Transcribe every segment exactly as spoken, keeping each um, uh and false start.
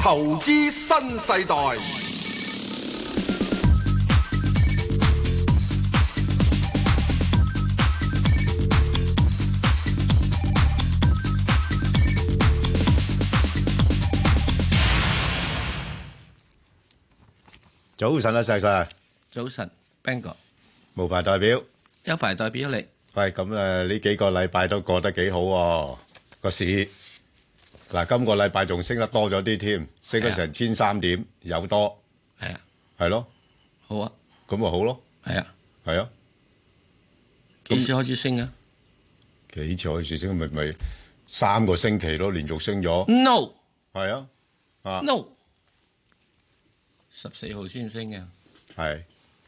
投資新世代。 早晨啊，石 Sir。 早晨 ，Bang 哥， 無牌代表， 有牌代表你。 喂，咁誒呢幾個禮拜都過得幾好喎，個市嗱，今個禮拜仲升得多咗啲添，升咗成千三點，有多。 係啊， 係咯， 好啊， 咁咪好咯。 係啊， 係啊， 幾時開始升啊？ 幾次開始升咪咪三個星期咯，連續升咗。 No， 係啊，啊 No，十四號先升嘅。 係。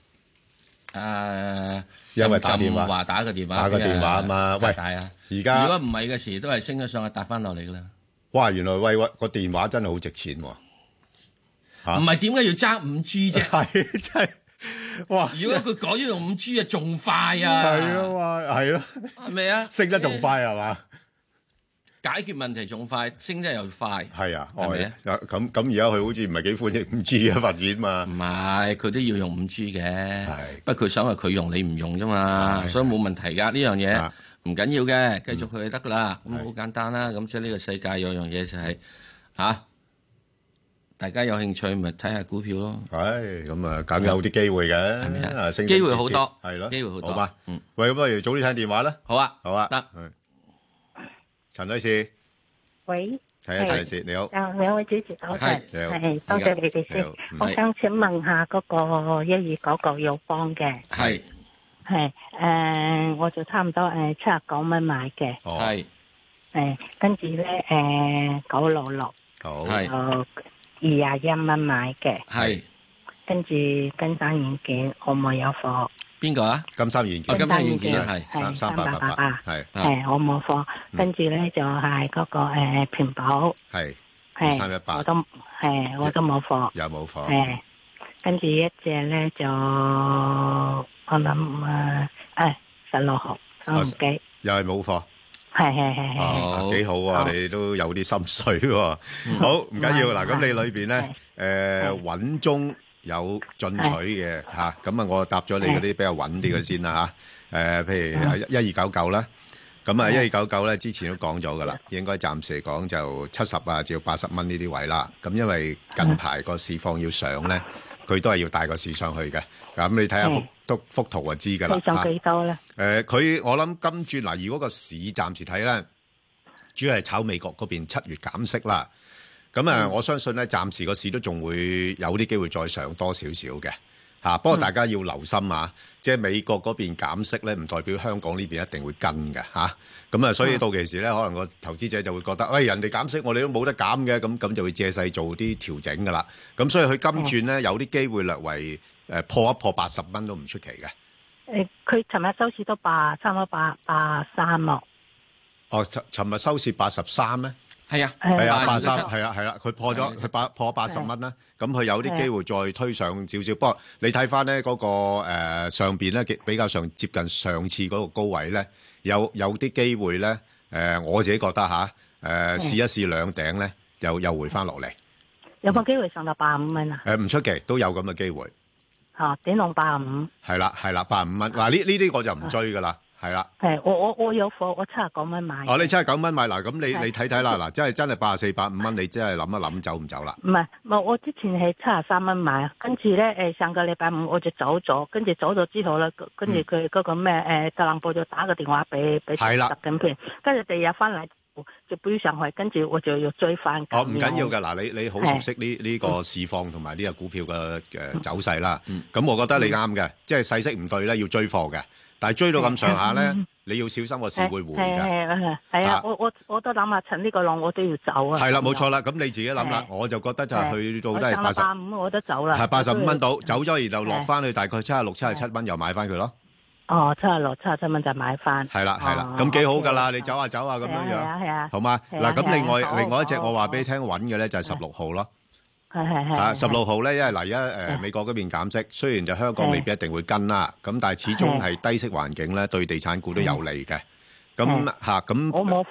誒， 因為打電話話打個電話， 打個電話啊嘛。喂， 大啊！ 而家如果唔係嘅時，都係升咗上去，搭翻落嚟噶啦。 哇，原來喂喂個電話真係好值錢喎。 唔係點解要爭五 G 啫？ 係真係哇！ 如果佢改咗用五 G 啊，仲快啊！ 係咯嘛，係咯， 係咪啊？ 升得仲快係嘛？ 解決問題仲快，升得又快。 係啊， 係咪啊？ 咁咁而家佢好似唔係幾歡迎五 G 嘅發展嘛？ 唔係，佢都要用五 G 嘅。 係， 不過佢想話佢用你唔用啫嘛，所以冇問題㗎呢樣嘢，唔緊要嘅，繼續佢就得㗎啦。咁好簡單啦。咁即係呢個世界有樣嘢就係嚇，大家有興趣咪睇下股票咯。 係，咁啊，梗有啲機會嘅， 係咪啊？ 升機會好多， 係咯， 機會好多。 好嘛， 嗯， 喂，咁不如早啲聽電話啦。 好啊， 好啊， 得。 陳女士， 喂， 係啊，陳女士你好。 啊，兩位主持早晨， 你好係多謝你哋先。我想請問下嗰個一二九九友邦嘅， 係係誒，我就差唔多誒七十九蚊買嘅， 係誒，跟住咧誒九六六， 好， 係就二廿一蚊買嘅， 係跟住金山軟件我冇有貨， 邊個啊？ 金三元件， 哦金山軟件係三三八八八，係係我冇貨，跟住咧就係嗰個誒平保， 係係三一八我都係我都冇貨。 有冇貨？ 誒，跟住一隻咧就我諗誒誒十六號三毫幾， 又係冇貨。 係係係係。 哦，幾好啊！你都有啲心水喎。好，唔緊要嗱。咁你裏邊咧誒穩中有進取嘅嚇，咁啊我答咗你嗰啲比較穩啲嘅先啦嚇。誒，譬如一二九九啦，咁啊一二九九咧之前都講咗噶啦，應該暫時嚟講就七十啊至到八十蚊呢啲位啦。咁因為近排個市況要上咧，佢都係要帶個市上去嘅。咁你睇下幅都幅圖就知噶啦。 上幾多咧？ 誒，佢我諗今轉嗱，如果個市暫時睇咧，主要係炒美國嗰邊七月減息啦。咁啊，我相信咧，暫時個市都仲會有啲機會再上多少少嘅嚇。不過大家要留心啊，即係美國嗰邊減息咧，唔代表香港呢邊一定會跟嘅嚇。咁啊，所以到期時咧，可能個投資者就會覺得，喂，人哋減息，我哋都冇得減嘅，咁咁就會借勢做啲調整噶啦。咁所以佢今轉咧有啲機會略為誒破一破八十蚊都唔出奇嘅。 誒，佢尋日收市都八差唔多八八三咯。 哦，尋尋日收市八十三咩？ 係啊， 係啊，八三係啦係啦，佢破咗佢八破八十蚊啦，咁佢有啲機會再推上少少。不過你睇翻咧嗰個誒上邊咧，比較上接近上次嗰個高位咧，有有啲機會咧誒，我自己覺得嚇誒試一試兩頂咧，又又回翻落嚟。 有冇機會上到八五蚊啊？ 誒唔出奇，都有咁嘅機會。 嚇，點弄八五？ 係啦係啦，八五蚊。嗱呢呢啲我就唔追噶啦。係啦， 係我我我有貨，我七十九蚊買。 哦，你七十九蚊買嗱，咁你你睇睇啦，嗱，真係真係八十四、八五蚊，你真係諗一諗走唔走啦？ 唔係，我我之前係七十三蚊買，跟住咧誒上個禮拜五我就走咗，跟住走咗之後咧，跟住佢嗰個咩誒特朗普就打個電話俾俾習近平，跟住第二日翻嚟就飆上去，跟住我就要追翻。 哦，唔緊要㗎，嗱，你你好熟悉呢呢個市況同埋呢個股票嘅誒走勢啦，咁我覺得你啱嘅，即係勢色唔對咧，要追貨嘅。但係追到咁上下咧，你要小心個市會回㗎。 係係係啊！我我我都諗下趁呢個浪我都要走啊。 係啦，冇錯啦。咁你自己諗啦，我就覺得就係去到都係八十八五我都走啦。 係八十五蚊到，走咗然後落翻去大概七十六、七十七蚊，又買翻佢咯。 哦，七十六、七十七蚊就買翻。 係啦係啦，咁幾好㗎啦！你走下走下咁樣樣。 係啊係啊。 好嘛？嗱，咁另外另外一隻我話俾你聽穩嘅咧就係十六號咯。 係係係。 啊，十六號咧，因為嗱而家誒美國嗰邊減息，雖然就香港未必一定會跟啦，咁但係始終係低息環境咧，對地產股都有利嘅。咁嚇咁。 我冇貨。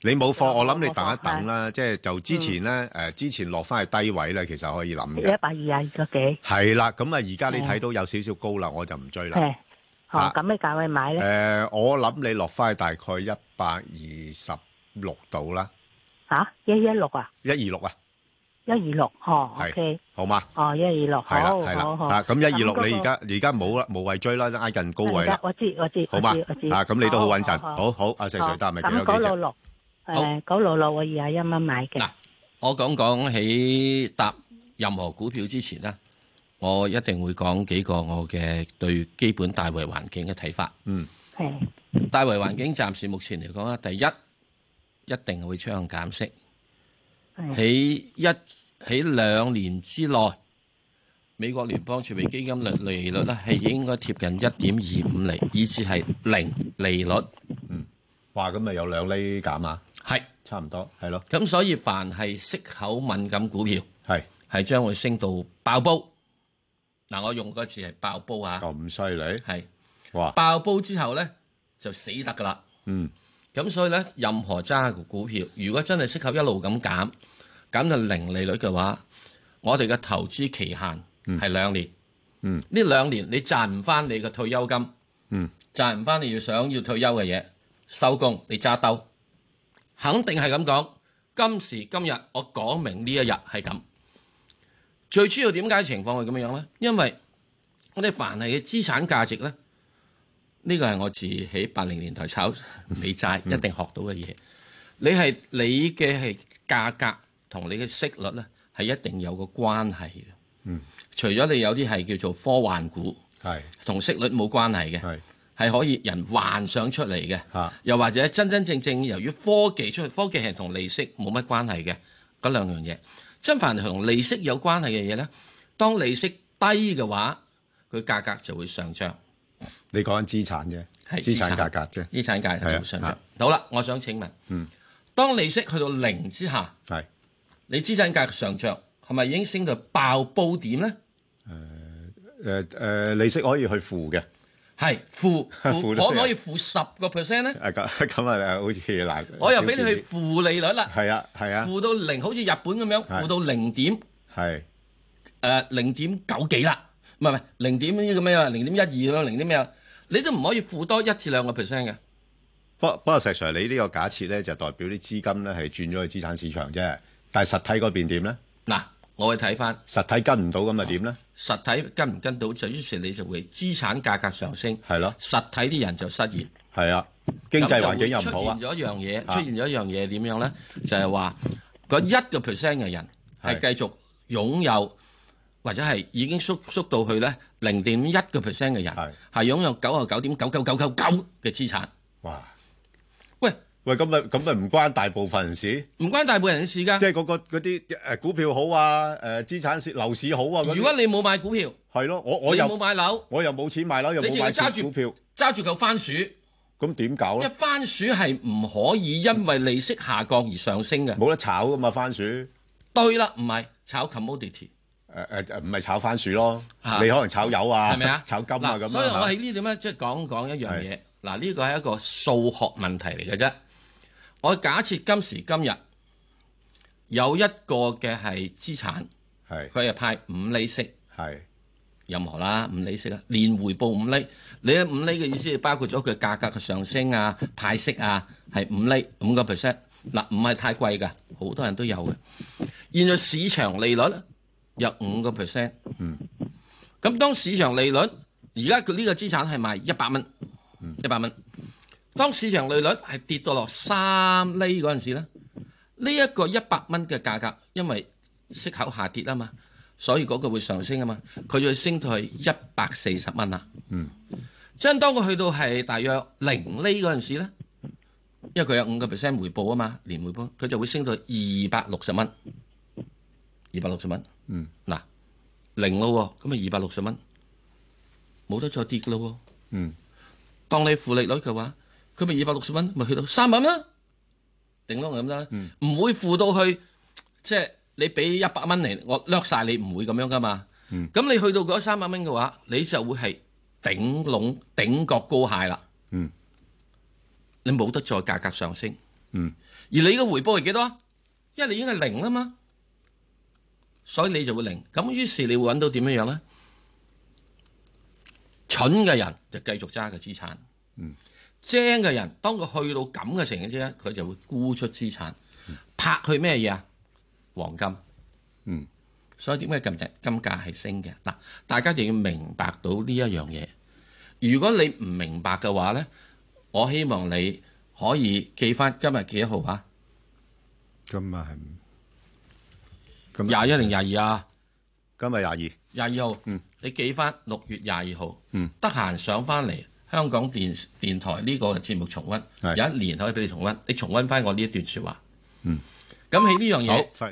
你冇貨，我諗你等一等啦。即係就之前咧，誒之前落翻去低位咧，其實可以諗嘅。 一百二廿二個幾？係啦，咁啊，而家你睇到有少少高啦，我就唔追啦。 係，哦，咁咩價位買咧？ 誒，我諗你落翻去大概一百二十六度啦。 嚇，一一六啊？ 一二六啊？ 一二六，哦，OK， 好嘛？ 哦，一二六，好，好，好。 啊，咁一二六你而家而家冇啦，無謂追啦，挨近高位啦。 我知，我知， 好嘛？ 我知。 啊，咁你都好穩陣。好好，阿石 Sir 答咪幾多幾隻？ 咁九六六，誒，九六六我二廿一蚊買嘅。 嗱，我講講喺答任何股票之前咧，我一定會講幾個我嘅對基本大圍環境嘅睇法。 嗯， 係。 大圍環境暫時目前嚟講咧，第一一定會趨向減息。喺一喺兩年之內，美國聯邦儲備基金率利率咧係應該貼近一點二五厘，以至係零利率。 嗯，哇，咁咪有兩厘減啊？ 係， 差唔多，係咯。 咁所以凡係息口敏感股票， 係係將會升到爆煲。嗱，我用個字係爆煲啊！ 咁犀利？ 係， 哇！ 爆煲之後咧就死得噶啦。 嗯。 咁所以咧，任何揸嘅股票，如果真係息口一路咁減，減到零利率嘅話，我哋嘅投資期限係兩年。 嗯， 呢兩年你賺唔翻你嘅退休金， 嗯， 賺唔翻你要想要退休嘅嘢，收工你揸兜，肯定係咁講。今時今日我講明呢一日係咁。最主要點解情況係咁樣咧？因為我哋凡係嘅資產價值咧。呢個係我自喺八零年代炒美債一定學到嘅嘢。你係你嘅係價格同你嘅息率咧，係一定有個關係嘅。 嗯， 除咗你有啲係叫做科幻股， 係同息率冇關係嘅， 係係可以人幻想出嚟嘅。 嚇， 又或者真真正正由於科技出嚟，科技係同利息冇乜關係嘅嗰兩樣嘢。真凡係同利息有關係嘅嘢咧，當利息低嘅話，佢價格就會上漲。 你講緊資產啫，係資產價格啫， 資產價格就會上漲。好啦，我想請問， 嗯， 當利息去到零之下， 係你資產價格上漲，係咪已經升到爆煲點咧？ 誒誒誒，利息可以去負嘅， 係負負，可唔可以負十個 percent 咧？ 誒咁咁啊，好似嗱， 我又俾你去負利率啦， 係啊係啊， 負到零，好似日本咁樣，負到零點， 係誒零點九幾啦。唔係唔係零點呢個咩啊？零點一二咁樣，零點咩啊？你都唔可以負多一至兩個 percent 嘅。 不不過石 Sir，你呢個假設咧就代表啲資金咧係轉咗去資產市場啫。但係實體嗰邊點咧？ 嗱，我去睇翻實體跟唔到咁啊點咧？ 實體跟唔跟到就於是你就會資產價格上升， 係咯。 實體啲人就失業， 係啊，經濟環境又唔好啊。 出現咗一樣嘢，出現咗一樣嘢點樣咧？就係話嗰一個 percent 嘅人係繼續擁有。或者係已經縮縮到去咧零點一個 percent 嘅人，係擁有九十九點九九九九九嘅資產。 哇！ 喂喂，咁咪咁咪唔關大部分人事？ 唔關大部分人事㗎。 即係嗰個嗰啲誒股票好啊，誒資產市樓市好啊。 如果你冇買股票， 係咯，我我又冇買樓， 我又冇錢買樓，又冇買股票， 揸住嚿番薯， 咁點搞咧？ 一番薯係唔可以因為利息下降而上升嘅， 冇得炒㗎嘛番薯。 對啦，唔係炒 commodity。 誒誒誒，唔係炒番薯咯，你可能炒油啊， 係咪啊？ 炒金啊咁。 所以我喺呢度咧，即係講講一樣嘢。嗱，呢個係一個數學問題嚟嘅啫。我假設今時今日有一個嘅係資產，係佢係派五厘息，係任何啦，五厘息啊，年回報五厘。你嘅五厘嘅意思係包括咗佢價格嘅上升啊、派息啊，係五厘五個 percent。嗱，唔係太貴㗎，好多人都有嘅。現在市場利率有五個 percent，嗯，咁當市場利率而家佢呢個資產係賣一百蚊，一百蚊。當市場利率係跌到落三厘嗰陣時咧，呢一個一百蚊嘅價格，因為息口下跌啊嘛，所以嗰個會上升啊嘛，佢就會升到去一百四十蚊啦。嗯，即係當佢去到係大約零厘嗰陣時咧，因為佢有五個 percent 回報啊嘛，年回報，佢就會升到二百六十蚊，二百六十蚊。嗯，嗱，零咯，咁啊二百六十蚊，冇得再跌噶咯。嗯，當你負利率嘅話，佢咪二百六十蚊，咪去到三百蚊，頂多咁啦。嗯，唔會負到去，即係你俾一百蚊嚟，我掠晒你，唔會咁樣噶嘛。嗯，咁你去到嗰三百蚊嘅話，你就會係頂籠頂角高蟹啦。嗯，你冇得再價格上升。 嗯， 而你嘅回報係幾多啊？因為你已經係零啦嘛，所以你就會零。咁於是你會揾到點樣樣咧？蠢嘅人就繼續揸個資產， 嗯， 精嘅人當佢去到咁嘅情形之下，佢就會沽出資產，嗯、拍去咩嘢啊？黃金， 嗯， 所以點解近日金價係升嘅？嗱，大家一定要明白到呢一樣嘢。如果你唔明白嘅話咧，我希望你可以記翻今日幾多號啊？ 今日係廿一定廿二啊？ 今日廿二， 廿二號， 嗯， 你記翻六月廿二號， 嗯， 得閒上翻嚟香港電電台呢個節目重溫，有一年可以俾你重溫，你重溫翻我呢一段説話， 嗯， 咁喺呢樣嘢， 好，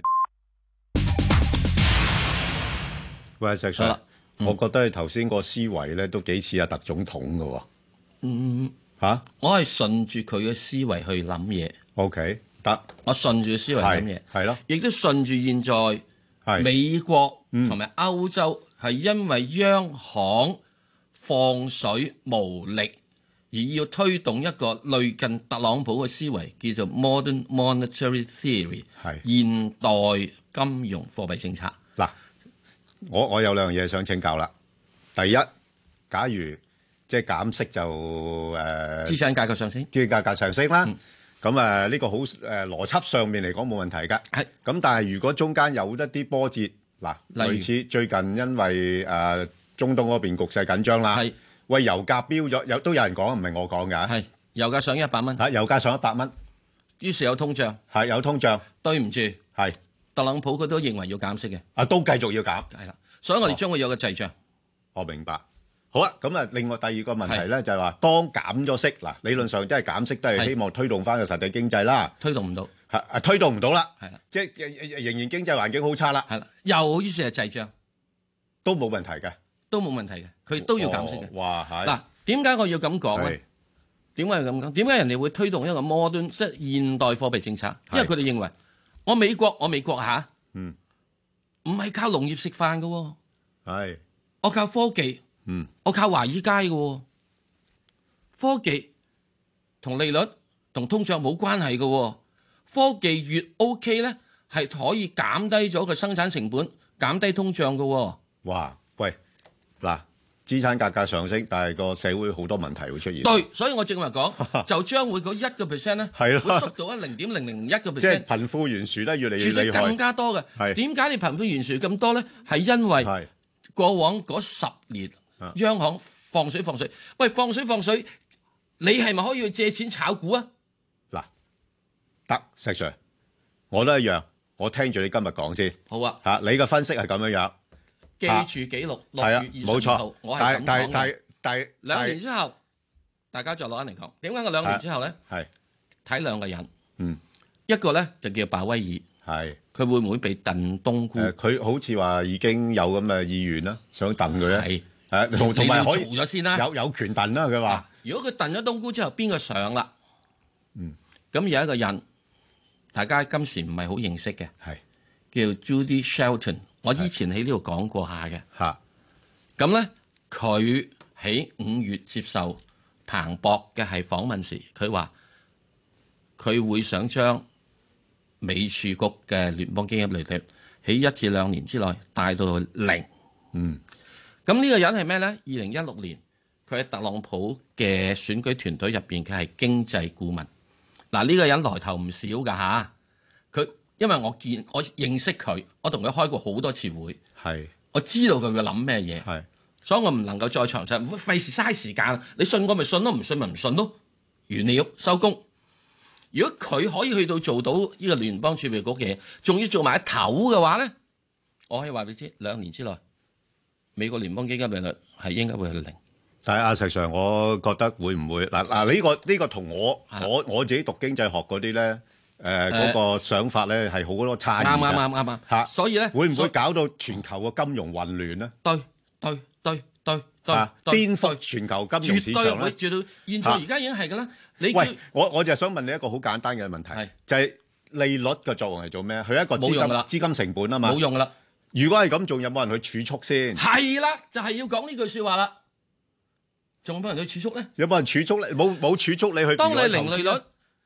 喂，石 Sir，我覺得你頭先個思維咧都幾似阿特總統嘅喎， 嗯， 嚇、啊， 我係順住佢嘅思維去諗嘢 ，OK，得， 我順住思維諗嘢， 係咯， 亦都順住現在美國同埋歐洲係因為央行放水無力，而要推動一個類近特朗普嘅思維，叫做 Modern Monetary Theory， 現代金融貨幣政策。 嗱，我我有兩樣嘢想請教啦。第一，假如即係減息就誒、呃、 資產價格上升， 資產價格上升啦。咁誒呢個好誒、呃、邏輯上面嚟講冇問題㗎。係。咁但係如果中間有一啲波折，嗱，類似最近因為誒、呃、中東嗰邊局勢緊張啦，係。喂，油價飆咗，有都有人講，唔係我講㗎。係。油價上一百蚊。嚇，油價上一百蚊。於是有通脹。係有通脹。對唔住。係。特朗普佢都認為要減息嘅。啊，都繼續要減。係啦。所以我哋將會有個滯脹。我明白。好啦，咁啊，另外第二個問題咧就係話，當減咗息，嗱，理論上即係減息都係希望推動翻個實體經濟啦。推動唔到，係啊，推動唔到啦。係啦，即係仍然經濟環境好差啦。係啦，又於是係滯脹，都冇問題嘅，都冇問題嘅，佢都要減息嘅。哇，係嗱，點解我要咁講咧？點解要咁講？點解人哋會推動一個 modern 即係現代貨幣政策？因為佢哋認為我美國，我美國嚇，嗯，唔係靠農業食飯嘅喎，係，我靠科技。嗯，我靠華爾街嘅科技同利率同通脹冇關係嘅，科技越 OK 咧，係可以減低咗個生產成本，減低通脹嘅。哇，喂，嗱，資產價格上升，但係個社會好多問題會出現。對，所以我正話講，就將會嗰一個 percent 咧，係咯，會縮到一零點零零一個 percent，即係貧富懸殊咧越嚟越厲害，絕對更加多嘅。係點解你貧富懸殊咁多咧？係因為過往嗰十年。央行放水放水，喂，放水放水，你係咪可以去借錢炒股啊？嗱，得石 Sir，我都一樣，我聽住你今日講先。好啊，嚇你嘅分析係咁樣樣，記住記錄六月二十二號，我係咁講嘅。但係但係但係兩年之後，大家再攞翻嚟講，點解我兩年之後咧？係睇兩個人，嗯，一個咧就叫鮑威爾，係佢會唔會被燉冬菇？佢好似話已經有咁嘅意願啦，想燉佢咧。係。誒，同同埋可以做咗先啦，有有權燉啦。佢話：如果佢燉咗冬菇之後，邊個上啦？嗯，咁有一個人，大家今時唔係好認識嘅，係叫 Judy Shelton。我之前喺呢度講過下嘅嚇。咁咧，佢喺五月接受彭博嘅係訪問時，佢話佢會想將美儲局嘅聯邦基金利率喺一至兩年之內帶到去零。嗯。咁呢個人係咩咧？二零一六年，佢喺特朗普嘅選舉團隊入邊，佢係經濟顧問。嗱，呢個人來頭唔少噶吓。佢因為我見我認識佢，我同佢開過好多次會，係我知道佢會諗咩嘢，係，所以我唔能夠再詳細，費事嘥時間。你信我咪信咯，唔信咪唔信咯，完了收工。如果佢可以去到做到呢個聯邦儲備局嘅嘢，仲要做埋一頭嘅話咧，我可以話俾你知，兩年之內。美國聯邦基金利率係應該會係零，但係阿石 Sir，我覺得會唔會嗱嗱呢個呢、呢個同我我我自己讀經濟學嗰啲咧，誒、呃、嗰、呃嗰個想法咧係好多差異嘅，啱啱啱啱啱，所以咧會唔會搞到全球嘅金融混亂咧？對對對對對，顛覆全球金融市場咧？絕對會，絕對。現在而家已經係㗎啦。你喂，我我就係想問你一個好簡單嘅問題，就係、是、利率嘅作用係做咩？佢一個資金資金成本啊嘛，冇用㗎啦。如果係咁，仲有冇人去儲蓄先？係啦，就係、是、要講呢句說話啦。仲有冇人去儲蓄咧？有冇人儲蓄咧？冇冇儲蓄你去？當你零利率，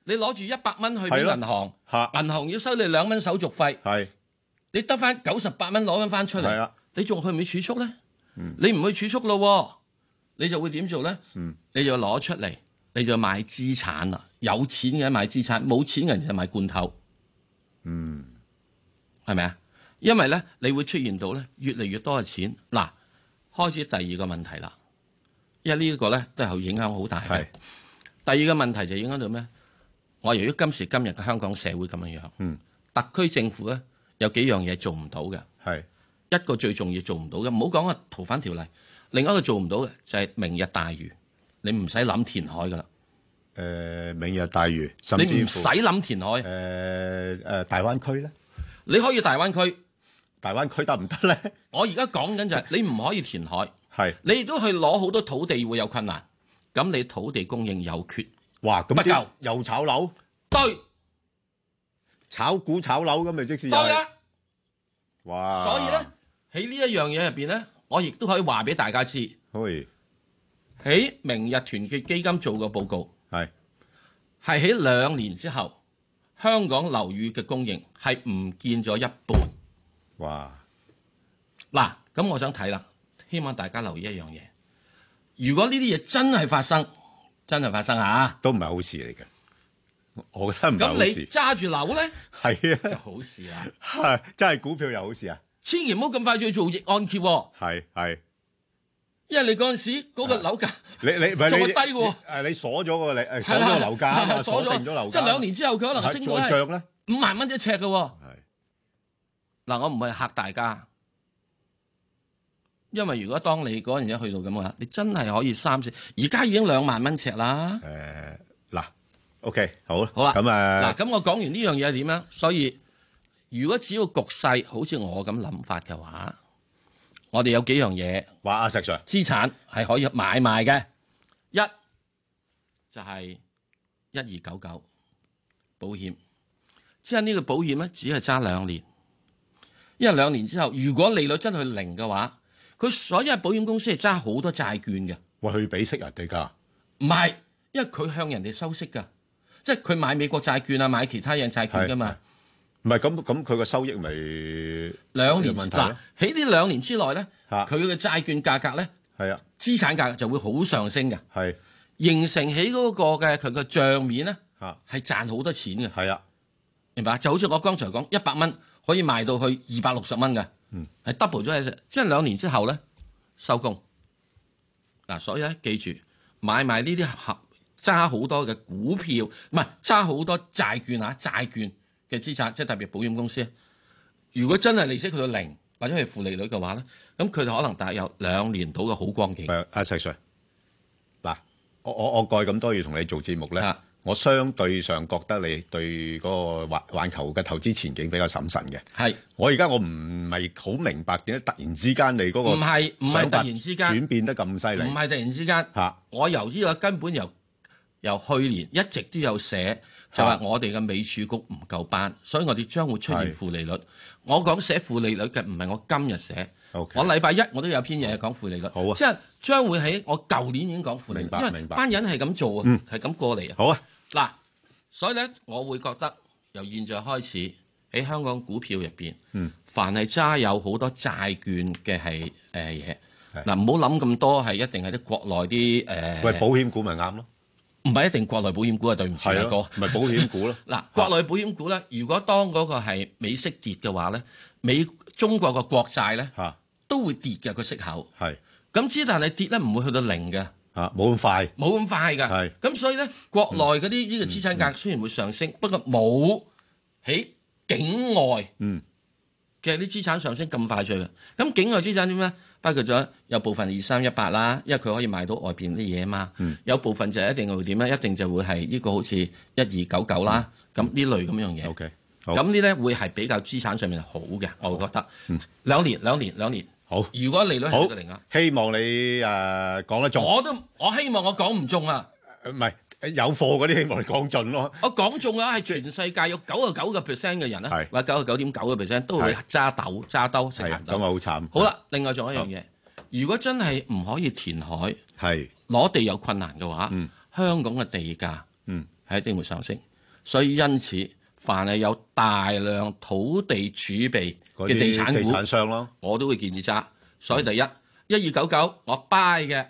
你攞住一百蚊去俾銀行，銀行要收你兩蚊手續費， 係你得翻九十八蚊攞翻翻出嚟，你仲去唔去儲蓄咧？嗯、你唔去儲蓄咯，你就會點做咧？嗯、你就攞出嚟，你就買資產啦。有錢嘅買資產，冇錢嘅人就買罐頭。嗯，係咪啊？因為咧，你會出現到咧越嚟越多嘅錢。嗱，開始第二個問題啦。因為呢一個咧都係影響好大嘅。第二個問題就影響到咩？我由於今時今日嘅香港社會咁樣樣，嗯、特區政府咧有幾樣嘢做唔到嘅。係一個最重要做唔到嘅，唔好講個逃犯條例。另一個做唔到嘅就係明日大嶼，你唔使諗填海噶啦。 誒、呃，明日大嶼，甚至乎你唔使諗填海。誒誒、 呃呃，大灣區咧， 你可以大灣區， 大灣區得唔得咧？ 我而家講緊就係你唔可以填海， 係你亦都去攞好多土地會有困難，咁你土地供應有缺， 哇，咁不夠又炒樓， 對， 炒股炒樓咁咪即是對啊， 哇！ 所以咧喺呢一樣嘢入邊咧，我亦都可以話俾大家知， 喺明日團結基金做個報告。 係係喺兩年之後，香港樓宇嘅供應係唔見咗一半。 哇！ 嗱，咁我想睇啦，希望大家留意一樣嘢。如果呢啲嘢真係發生，真係發生嚇， 都唔係好事嚟嘅。我覺得唔係好事。 咁你揸住樓咧， 係啊， 就好事啦。 係真係股票又好事啊！ 千祈唔好咁快去做逆按揭喎。 係係。 因為你嗰陣時嗰個樓價， 你你唔係仲會低喎。 誒，你鎖咗個你誒鎖咗個樓價啊嘛，鎖定咗樓價。 即係兩年之後，佢可能升到再漲咧五萬蚊一尺嘅喎。係嗱，我唔係嚇大家，因為如果當你嗰陣時去到咁嘅話，你真係可以三四，而家已經兩萬蚊尺啦。 誒嗱 ，OK，好啦， 好啦， 咁誒嗱，咁我講完呢樣嘢係點樣？所以如果只要局勢好似我咁諗法嘅話，我哋有幾樣嘢， 話阿石 Sir 資產係可以買賣嘅。一就係一二九九保險，即係呢個保險咧，只係揸兩年，因為兩年之後，如果利率真係零嘅話，佢所有保險公司係揸好多債券嘅。 喂，佢俾息人哋㗎？ 唔係，因為佢向人哋收息㗎，即係佢買美國債券啊，買其他嘢債券㗎嘛。 唔係咁咁，佢個收益咪兩年嗱喺呢兩年之內咧，佢嘅的債券價格咧， 係啊， 資產價格就會好上升嘅， 係形成起嗰個嘅佢個帳面咧， 嚇係賺好多錢嘅， 係啊， 明白？就好似我剛才講，一百蚊可以賣到去二百六十蚊嘅，嗯，係 double 咗喺，即係兩年之後咧收工。嗱，所以咧記住買賣呢啲合揸好多嘅股票，唔係揸好多債券啊，債券嘅資產，即係特別保險公司，如果真係利息去到零或者係負利率嘅話咧，咁佢哋可能大約有兩年到嘅好光景。 阿石 Sir，嗱，我我我過去咁多月同你做節目咧， 啊、 我相對上覺得你對嗰個環環球嘅投資前景比較審慎嘅。係是，我而家我唔係好明白點解突然之間你嗰個唔係唔係突然之間轉變得咁犀利， 唔係突然之間。嚇、啊，我由呢個根本由由去年一直都有寫。就話我哋嘅美儲局唔夠班，所以我哋將會出現負利率。是我講寫負利率嘅唔係我今日寫，okay, 我禮拜一我都有篇嘢講負利率，好啊、即係將會喺我舊年已經講負利率，因為班人係咁做啊，係咁、嗯、過嚟啊。好啊，嗱，所以咧，我會覺得由現在開始喺香港股票入邊，嗯、凡係揸有好多債券嘅係誒嘢，嗱唔好諗咁多係一定係啲國內啲誒，呃、 喂，保險股咪啱咯。 唔係一定國內保險股啊，對唔住啊哥， 唔係保險股咯。 嗱，國內保險股咧，如果當嗰個係美息跌嘅話咧，美中國嘅國債咧都會跌嘅個息口。係咁之，但係跌咧唔會去到零嘅。嚇，冇咁快，冇咁快㗎。係咁，所以咧，國內嗰啲呢個資產價雖然會上升，不過冇喺境外嘅啲資產上升咁快脆嘅。咁境外資產點咧？包括咗有部分二三一八啦，因為佢可以賣到外邊啲嘢啊嘛。嗯、有部分就一定會點咧？一定就會係呢個好似一二九九啦。咁呢、嗯、類咁樣嘢。OK，咁呢咧會係比較資產上面好嘅，好我覺得。嗯、兩年兩年兩年。好。如果利率係個零啊， 希望你誒、呃、講得中。 我都我希望我講唔中啊。 唔係、呃、有貨嗰啲希望你講盡咯。 我講中啊，係全世界有九十九個 percent 嘅人咧，是或者九十九點九個 percent 都會揸豆揸兜食鹹豆。咁啊好慘。好啦，另外仲有一樣嘢，如果真係唔可以填海，係攞地有困難嘅話，嗯、香港嘅地價係一定會上升。 所以因此，凡係有大量土地儲備嘅地產股， 地產商咯， 我都會建議揸。所以第一，一二九九我 buy 嘅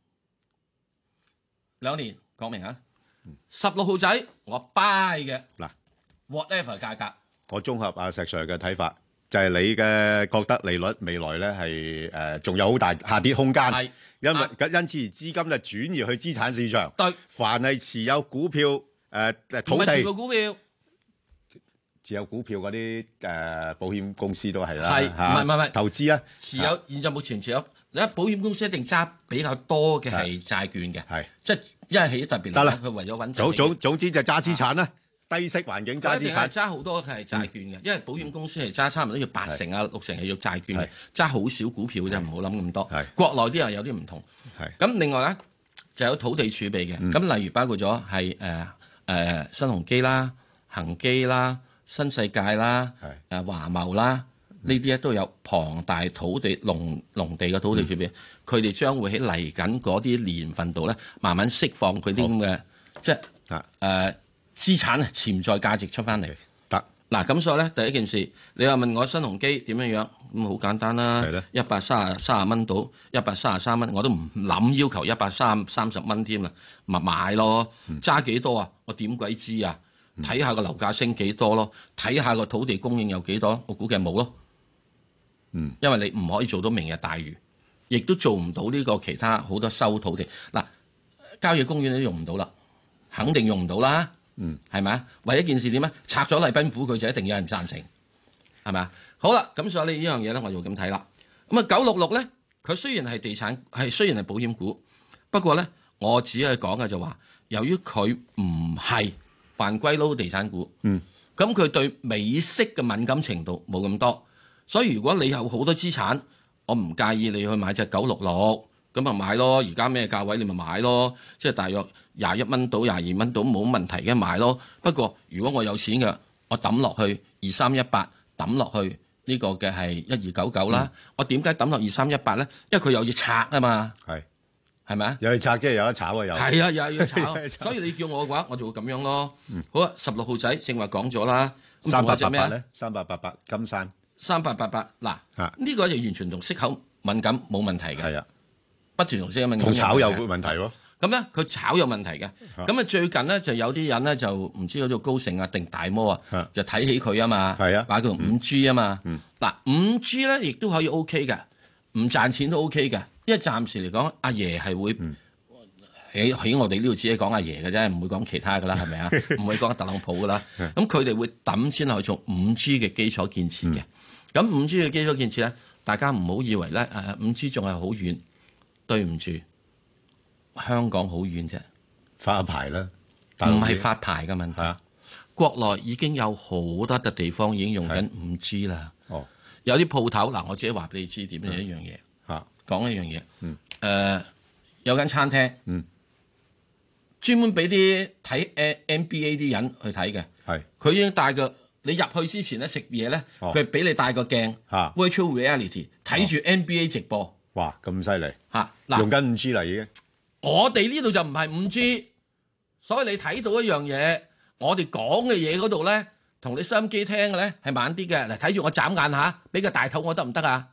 兩年，講明啊，十六號仔我 buy 嘅嗱 ，whatever 價格。 我綜合阿石 Sir 嘅睇法，就係你嘅覺得利率未來咧係誒仲有好大下跌空間， 係因為啊因此而資金就轉移去資產市場。 對， 凡係持有股票誒誒唔土係全地部股票， 持有股票嗰啲誒保險公司都係啦， 係唔係唔係唔係投資啊， 持有現在目前持有，你睇保險公司一定揸比較多嘅係債券嘅， 係即係因為係特別得啦嚟講，佢為咗穩陣總起總總之就揸資產啦，低息環境揸資產。 揸好多係債券嘅，因為保險公司係揸差唔多要八成啊六成係要債券嘅係， 揸好少股票嘅啫，唔好諗咁多係。 國內啲又有啲唔同。 係咁另外咧就有土地儲備嘅，咁例如包括咗係誒誒新鴻基啦、恒基啦、新世界啦、 係誒華茂啦，呢啲咧都有龐大土地農農地嘅土地儲備，佢哋將會喺嚟緊嗰啲年份度咧，慢慢釋放佢啲咁嘅即係啊誒資產啊潛在價值出翻嚟。 得嗱咁所以咧，第一件事，你話問我新鴻基點樣樣，咁好簡單啦係咧， 一百三十三十蚊到，一百三十三蚊，我都唔諗要求一百三三十蚊添啦，咪買咯，揸幾多啊？我點鬼知啊？睇下個樓價升幾多咯，睇下個土地供應有幾多，我估計冇咯。 嗯， 因為你唔可以做到明日大嶼，亦都做唔到呢個其他好多收土地。嗱，郊野公園都用唔到啦，肯定用唔到啦。 嗯， 係咪啊？為一件事點咧？拆咗麗賓府，佢就一定有人贊成，係咪啊？好啦，咁所以呢樣嘢咧，我就咁睇啦。咁啊，九六六咧，佢雖然係地產，係雖然係保險股，不過咧，我只係講嘅就話，由於佢唔係犯歸撈地產股， 嗯， 咁佢對美息嘅敏感程度冇咁多，所以如果你有好多資產，我唔介意你去買隻九六六。咁咪買咯，而家咩價位你咪買咯，即係大約廿一蚊到廿二蚊到冇問題嘅買咯。不過如果我有錢嘅，我抌落去二三一八，抌落去呢個嘅係一二九九啦。我點解抌落二三一八咧？因為佢有嘢拆啊嘛， 係係咪啊？ 有去拆即係有得炒啊，有係啊，又要炒，所以你叫我嘅話，我就會咁樣咯。好啊，十六號仔正話講咗啦， 三八八咩八咧？三八八八金山三八八八嗱，呢個就完全同息口敏感冇問題嘅。 係啊。 不斷同息口敏感， 同炒有問題喎。 咁咧，佢炒有問題嘅。咁啊，最近咧就有啲人咧就唔知嗰個高盛啊定大摩啊，就睇起佢啊嘛。 係啊， 話佢五 G 啊嘛。嗱、 嗯， 五 G 咧亦都可以 OK 嘅，唔賺錢都 OK 嘅。因為暫時嚟講，阿爺係會喺喺、嗯、我哋呢度只係講阿爺嘅啫，唔會講其他噶啦，係咪啊？唔會講特朗普噶啦。咁佢哋會揼錢落去做五 G 嘅基礎建設嘅。咁五 G 嘅基礎建設咧，大家唔好以為咧誒五 G 仲係好遠。對唔住，香港好遠啫， 發牌啦， 唔係發牌嘅問題。 啊、 國內已經有好多笪地方已經用緊五 G 啦。 哦， 有啲鋪頭嗱，我自己話俾你知點樣一樣嘢。 嚇， 講一樣嘢。 嗯。 誒、呃，有間餐廳。 嗯。 專門俾啲睇 N B A 啲人去睇嘅。 係。 佢已經帶個你入去之前咧食嘢咧，佢係俾你帶個鏡。 嚇。 Virtual reality 睇住 N B A 直播。 哇，咁犀利嚇！嗱， 用緊五 G 啦已經。 我哋呢度就唔係五 G，所以你睇到一樣嘢，我哋講嘅嘢嗰度咧，同你收音機聽嘅咧係慢啲嘅。嗱，睇住我眨眼下，俾個大頭我得唔得啊？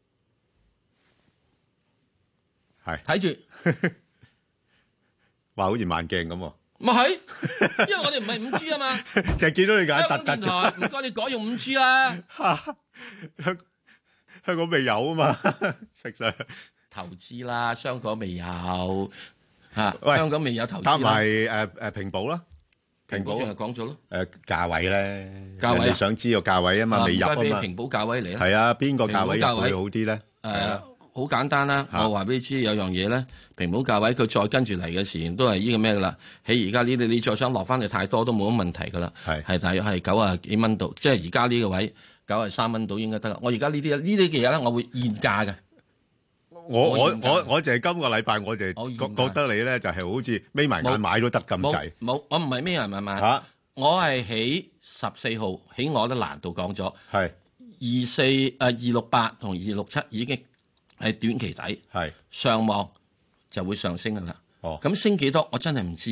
係。 睇住， 話好似慢鏡咁喎。 咪係，因為我哋唔係五 G 啊嘛。 就係見到你眼突突電台，唔該你改用五 G 啦。 香港未有啊嘛，實上投資啦，香港未有嚇，香港未有投資。 加埋誒誒平保啦，平保淨係講咗咯。 誒價位咧， 價位你想知個價位啊嘛，未入啊嘛。 平保價位嚟啊。 係啊，邊個價位入會好啲咧？ 誒，好簡單啦，我話俾你知有樣嘢咧，平保價位佢再跟住嚟嘅時都係呢個咩噶啦？喺而家呢啲你再想落翻去太多都冇乜問題噶啦。係係大約係九啊幾蚊度，即係而家呢個位。九十三蚊到應該得啦。我而家呢啲呢啲嘅嘢咧，我會現價嘅。 我我我我就係今個禮拜，我就覺覺得你咧就係好似眯埋眼買都得咁滯。 冇，我唔係眯埋眼買。嚇！我係喺十四號喺我啲欄度講咗。係二四誒二六八同二六七已經係短期底。係上望就會上升㗎啦。哦。咁升幾多？我真係唔知嘅。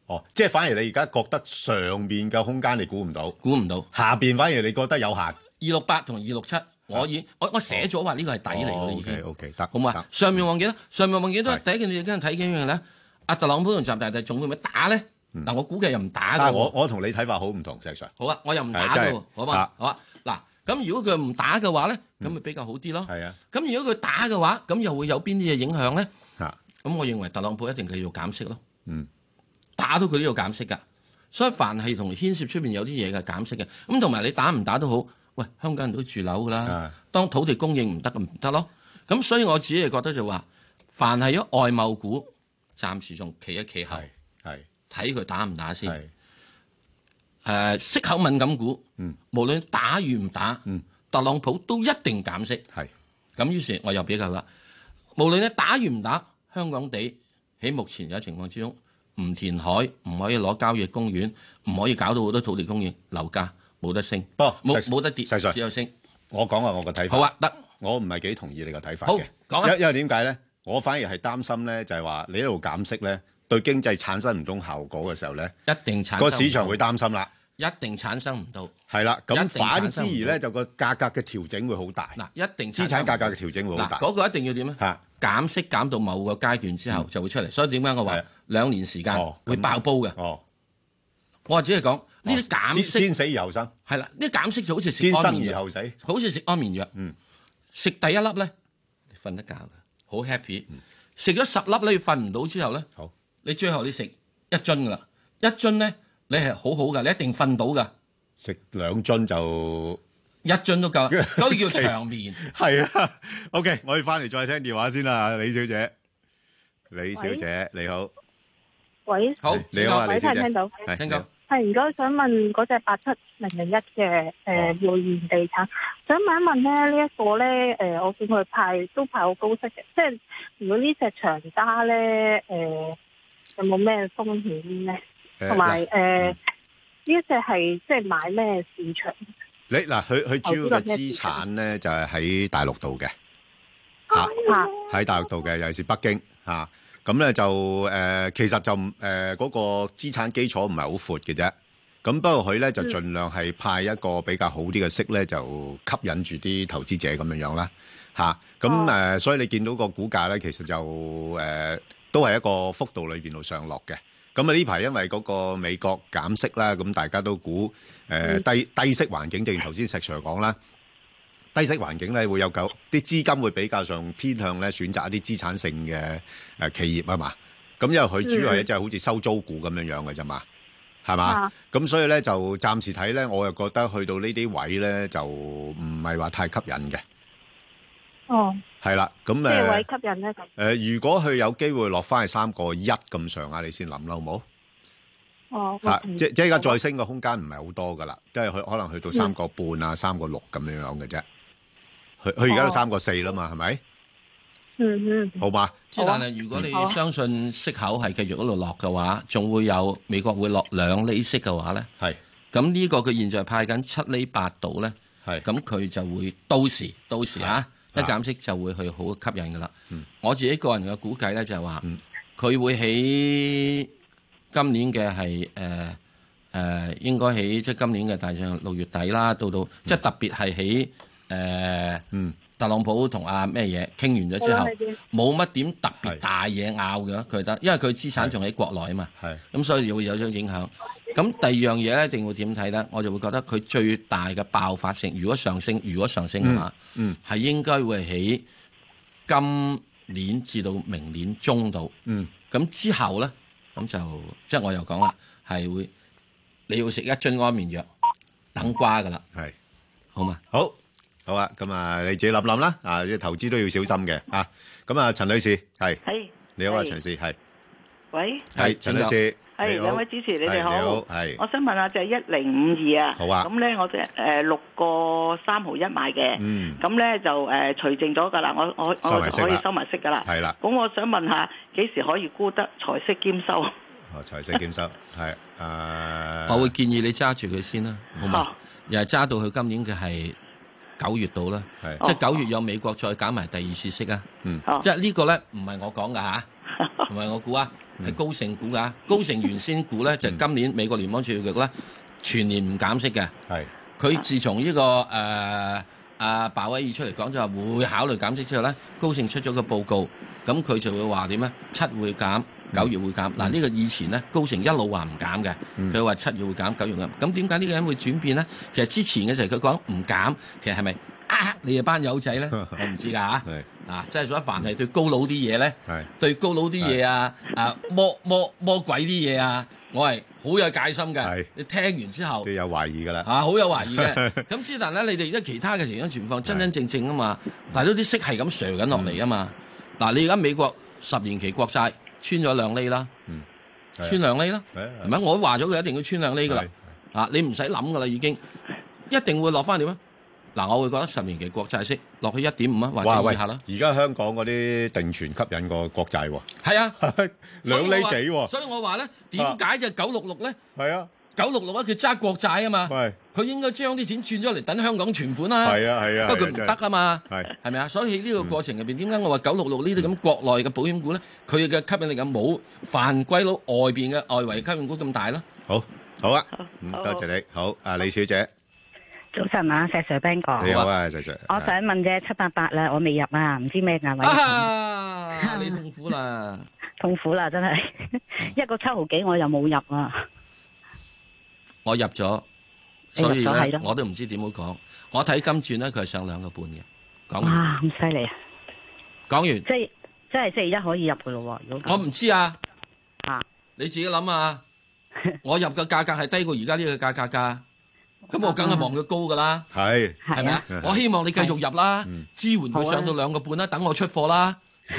哦，即係反而你而家覺得上邊嘅空間你估唔到， 估唔到， 下邊反而你覺得有限。二六八同二六七，我已經我我寫咗話呢個係底嚟嘅已經。 O K， 得， 好嘛？上面忘記啦，上面忘記都係第一件事，跟住睇幾樣咧。阿特朗普同習大大仲會唔會打咧？嗱，我估計又唔打嘅。 我我同你睇法好唔同，石 Sir。 好啊，我又唔打嘅喎，好嘛？好啊，嗱，咁如果佢唔打嘅話咧，咁咪比較好啲咯。係啊。咁如果佢打嘅話，咁又會有邊啲嘢影響咧？嚇。咁我認為特朗普一定繼續減息咯。嗯。打到佢都要減息㗎，所以凡係同牽涉出邊有啲嘢嘅減息嘅，咁同埋你打唔打都好，喂，香港人都住樓㗎啦。當土地供應唔得咁唔得咯。咁所以我自己係覺得就話，凡係咗外貿股，暫時仲企一企後，係睇佢打唔打先。誒、呃、息口敏感股，嗯、無論打與唔打、嗯，特朗普都一定減息。係咁，於是我又比較啦，無論你打與唔打，香港地喺目前嘅情況之中。唔填海，唔可以攞郊野公園，唔可以搞到好多土地供應，樓價冇得升，冇冇得跌，只有升。我講下我個睇法。好啊，得。我唔係幾同意你個睇法嘅。好，講啊。因因為點解咧？我反而係擔心咧，就係話你一路減息咧，對經濟產生唔到效果嘅時候咧，一定產生個市場會擔心啦。一定產生唔到。係啦，咁反之而咧，就個價格嘅調整會好大。嗱，一定資產價格嘅調整會好大。嗰個一定要點咧？嚇。減息減到某個階段之後就會出嚟，所以點解我話兩年時間會爆煲嘅？哦，我話只係講呢啲減息先死而後生，係啦，呢啲減息就好似食安眠藥，先生而後死，好似食安眠藥。嗯，食第一粒咧，你瞓得覺嘅，好 happy。食咗十粒咧，你瞓唔到之後咧，好，你最後你食一樽噶啦，一樽咧你係好好噶，你一定瞓到噶。食兩樽就。一樽都夠，嗰啲叫長眠。係啊 ，OK， 我哋翻嚟再聽電話先啦，李小姐。李小姐你好。喂。好，你好啊，李小姐。聽到。係，聽到。係，如果想問嗰隻八七零零一嘅誒匯賢地產，想問一問咧，呢一個咧誒，我見佢派都派好高息嘅，即係如果呢隻長揸咧誒，有冇咩風險咧？同埋誒呢一隻係即係買咩市場？你嗱，佢佢主要嘅資產咧就係喺大陸度嘅，嚇喺大陸度嘅，尤其是北京嚇。咁咧就誒，其實就誒嗰個資產基礎唔係好闊嘅啫。咁不過佢咧就盡量係派一個比較好啲嘅息咧，就吸引住啲投資者咁樣樣啦嚇。咁誒，所以你見到個股價咧，其實就誒都係一個幅度裏邊度上落嘅。咁啊呢排因為嗰個美國減息啦，咁大家都估誒低低息環境，正如頭先石 Sir 講啦，低息環境咧會有夠啲資金會比較上偏向咧選擇一啲資產性嘅誒企業啊嘛。咁因為佢主要係一隻好似收租股咁樣樣嘅啫嘛，係嘛？咁所以咧就暫時睇咧，我又覺得去到呢啲位咧就唔係話太吸引嘅。哦，係啦，咁誒，咩位吸引咧？誒，如果佢有機會落翻去三個一咁上下，你先諗啦，好冇？哦，嚇，即即係而家再升嘅空間唔係好多噶啦，即係佢可能去到三個半啊，三個六咁樣樣嘅啫。佢佢而家都三個四啦嘛，係咪？嗯嗯，好嘛。之但係如果你相信息口係繼續嗰度落嘅話，仲會有美國會落兩厘息嘅話咧，係。咁呢個佢現在派緊七厘八度咧，係。咁佢就會到時到時嚇。一減息就會去好吸引㗎啦、嗯。我自己個人嘅估計咧就係話，佢、嗯、會喺今年嘅係誒誒，應該喺即係今年嘅大約六月底啦，到到、嗯、即係特別係喺誒特朗普同阿咩嘢傾完咗之後，冇乜點特別大嘢拗嘅，佢得，因為佢資產仲喺國內啊嘛，咁所以會有種影響。咁第二樣嘢咧，一定會點睇咧？我就會覺得佢最大嘅爆發性，如果上升，如果上升嘅話，係、嗯嗯、應該會喺今年至到明年中度。咁、嗯、之後咧，咁就即係我又講啦，係會你要食一樽安眠藥等瓜噶啦。係好嘛？好，好啊。咁啊，你自己諗諗啦。啊，投資都要小心嘅啊。咁啊，陳女士係，你好啊，陳女士係。喂，係陳女士。係兩位主持，你哋好。係，我想問下就係一零五二啊。好啊。咁咧，我即係誒六個三毫一買嘅。嗯。咁咧就誒除淨咗㗎啦，我我我可以收埋息㗎啦。係啦。咁我想問下幾時可以沽得財息兼收？哦，財息兼收係誒。我會建議你揸住佢先啦，好嘛？又係揸到佢今年嘅係九月度啦。係。即係九月有美國再減埋第二次息啊。嗯。即係呢個咧唔係我講㗎嚇，唔係我估啊。 係高盛估㗎，高盛原先估咧就係今年美國聯邦儲備局咧全年唔減息嘅。 係佢自從呢、這個誒阿鮑威爾出嚟講就話會考慮減息之後咧，高盛出咗個報告，咁佢就會話點咧？七會減，九月會減。嗱、嗯、呢、這個以前咧高盛一路話唔減嘅，佢話七月會減，九月減。咁點解呢個人會轉變咧？其實之前嘅時候佢講唔減，其實係咪呃你哋班友仔咧？我唔知㗎嚇。啊，即係所以凡係對高佬啲嘢咧，對高佬啲嘢啊，啊魔魔魔鬼啲嘢啊，我係好有戒心嘅。你聽完之後， 都有懷疑㗎啦。 啊，好有懷疑嘅。咁之但咧，你哋而家其他嘅情況情況真真正正啊嘛，但係都啲息係咁瀡緊落嚟啊嘛。嗱、嗯，你而家美國十年期國債穿咗兩厘啦，嗯、穿兩厘啦，係咪？我都話咗佢一定要穿兩厘㗎啦。啊，你唔使諗㗎啦，已經一定會落翻點啊？嗱，我會覺得十年期國債息落去一點五啊，或者以下啦。而家香港嗰啲定存吸引過國債喎。 係啊， 兩厘幾喎。 所以我話咧，點解就九六六咧？ 係啊， 九六六啊，佢揸國債啊嘛。係。佢應該將啲錢轉咗嚟等香港存款啦。 係啊係啊。 不過佢唔得啊嘛。 係。 係咪啊？所以喺呢個過程入邊，點解我話九六六呢啲咁國內嘅保險股咧，佢嘅吸引力咁冇犯規佬外邊嘅外圍吸引股咁大咯？ 好，好啊，嗯，多謝你。好，啊李小姐。 早晨啊，石 Sir Ben 哥。 你好啊，石 Sir。 我想問啫，七八八啦，我未入啊，唔知咩價位。 啊！你痛苦啦， 痛苦啦，真係一個七毫幾，我又冇入啊。 我入咗，所以咧我都唔知點好講。我睇今轉咧，佢係上兩個半嘅。講完。 哇，咁犀利啊！ 講完。 即係即係星期一可以入嘅咯喎。 我唔知啊。 啊！ 你自己諗啊！我入嘅價格係低過而家呢個價格㗎。咁我梗係望佢高噶啦， 係係咪啊？我希望你繼續入啦，支援佢上到兩個半啦，等我出貨啦，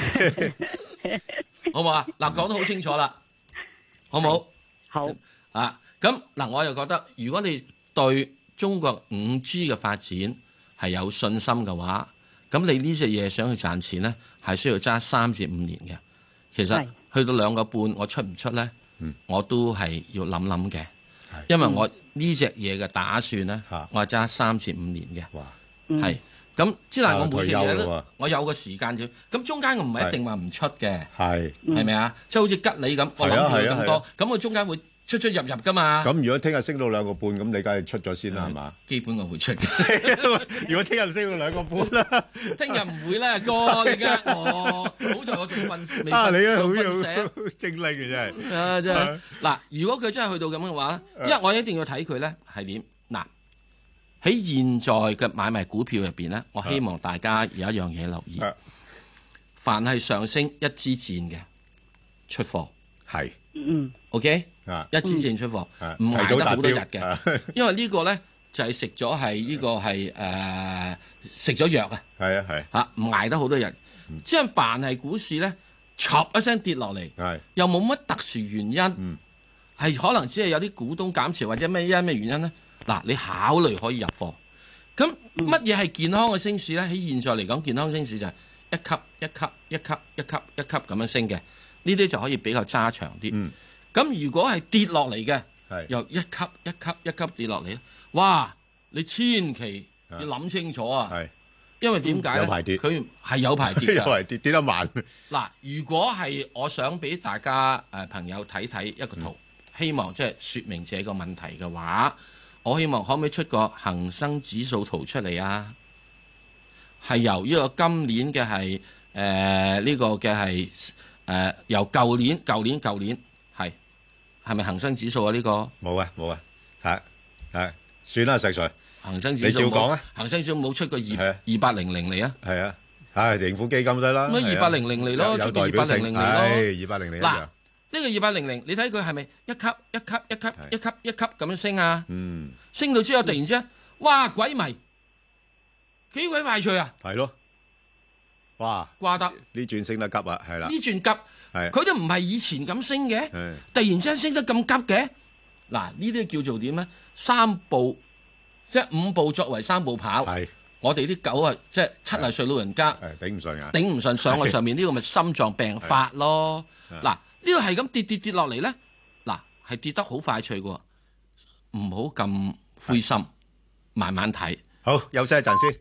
好唔好啊？嗱，講得好清楚啦，好唔好？ 好啊，咁嗱，我又覺得如果你對中國五 G 嘅發展係有信心嘅話，咁你呢隻嘢想去賺錢咧，係需要揸三至五年嘅。其實去到兩個半，我出唔出咧？我都係要諗諗嘅。因為我呢隻嘢嘅打算咧，我係揸三至五年嘅，係咁。之但我每隻嘢咧，我有個時間啫。咁中間我唔係一定話唔出嘅，係係咪啊？即係好似吉利咁，我諗住佢咁多，咁我中間會出出入入噶嘛。咁如果聽日升到兩個半，咁你梗係出咗先啦，係嘛？基本我會出嘅。如果聽日升到兩個半啦，聽日唔會啦，哥你嘅我，好在我仲瞓未瞓，你好有精力嘅真係。啊真係嗱，如果佢真係去到咁嘅話咧，因為我一定要睇佢咧係點。嗱喺現在嘅買賣股票入邊咧，我希望大家有一樣嘢留意，凡係上升一支箭嘅出貨係，嗯 ，OK。一支箭出貨，唔捱得好多日嘅，因為呢個咧就係食咗係呢個係誒食咗藥啊，係啊係嚇唔捱得好多日。即係凡係股市咧，嚓一聲跌落嚟，又冇乜特殊原因，係可能只係有啲股東減持或者咩因咩原因咧。嗱，你考慮可以入貨。咁乜嘢係健康嘅升市咧？喺現在嚟講，健康升市就係一級一級一級一級一級咁樣升嘅，呢啲就可以比較揸長啲。咁如果係跌落嚟嘅，由一級一級一級跌落嚟咧，哇！你千祈要諗清楚啊，因為點解咧？佢係有排跌嘅，有排跌跌得慢。嗱，如果係我想俾大家誒、呃、朋友睇睇一個圖，嗯、希望即係説明這個問題嘅話，我希望可唔可以出個恒生指數圖出嚟啊？係由呢個今年嘅係誒呢個嘅係誒由舊年舊年舊年。係咪恒生指數啊？呢、這個冇啊冇啊，係係算啦，石 Sir。恒生指數你照講啊。恒生指數冇出過二二八零零嚟啊。係啊，係盈富基金得啦。咁二八零零嚟咯，出個二八零零嚟咯。二八零零。嗱，呢個二八零零，你睇佢係咪一級一級一級一級一級咁樣升啊？嗯。升到之後突然之間，哇鬼迷，幾鬼快脆啊！係咯。哇！掛得呢轉升得急啊，係啦。呢轉急。佢都唔係以前咁升嘅，突然之間升得咁急嘅，嗱呢啲叫做點咧？三步即係五步作為三步跑，我哋啲狗啊，即係七十歲老人家，頂唔順啊，頂唔順上去上面呢個咪心臟病發咯。嗱呢個係咁跌跌跌落嚟咧，嗱係跌得好快脆嘅，唔好咁灰心，慢慢睇。好，休息一陣先。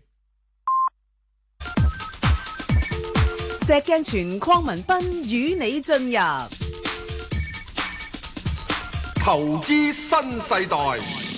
石鏡泉鄺民彬與你進入投資新世代。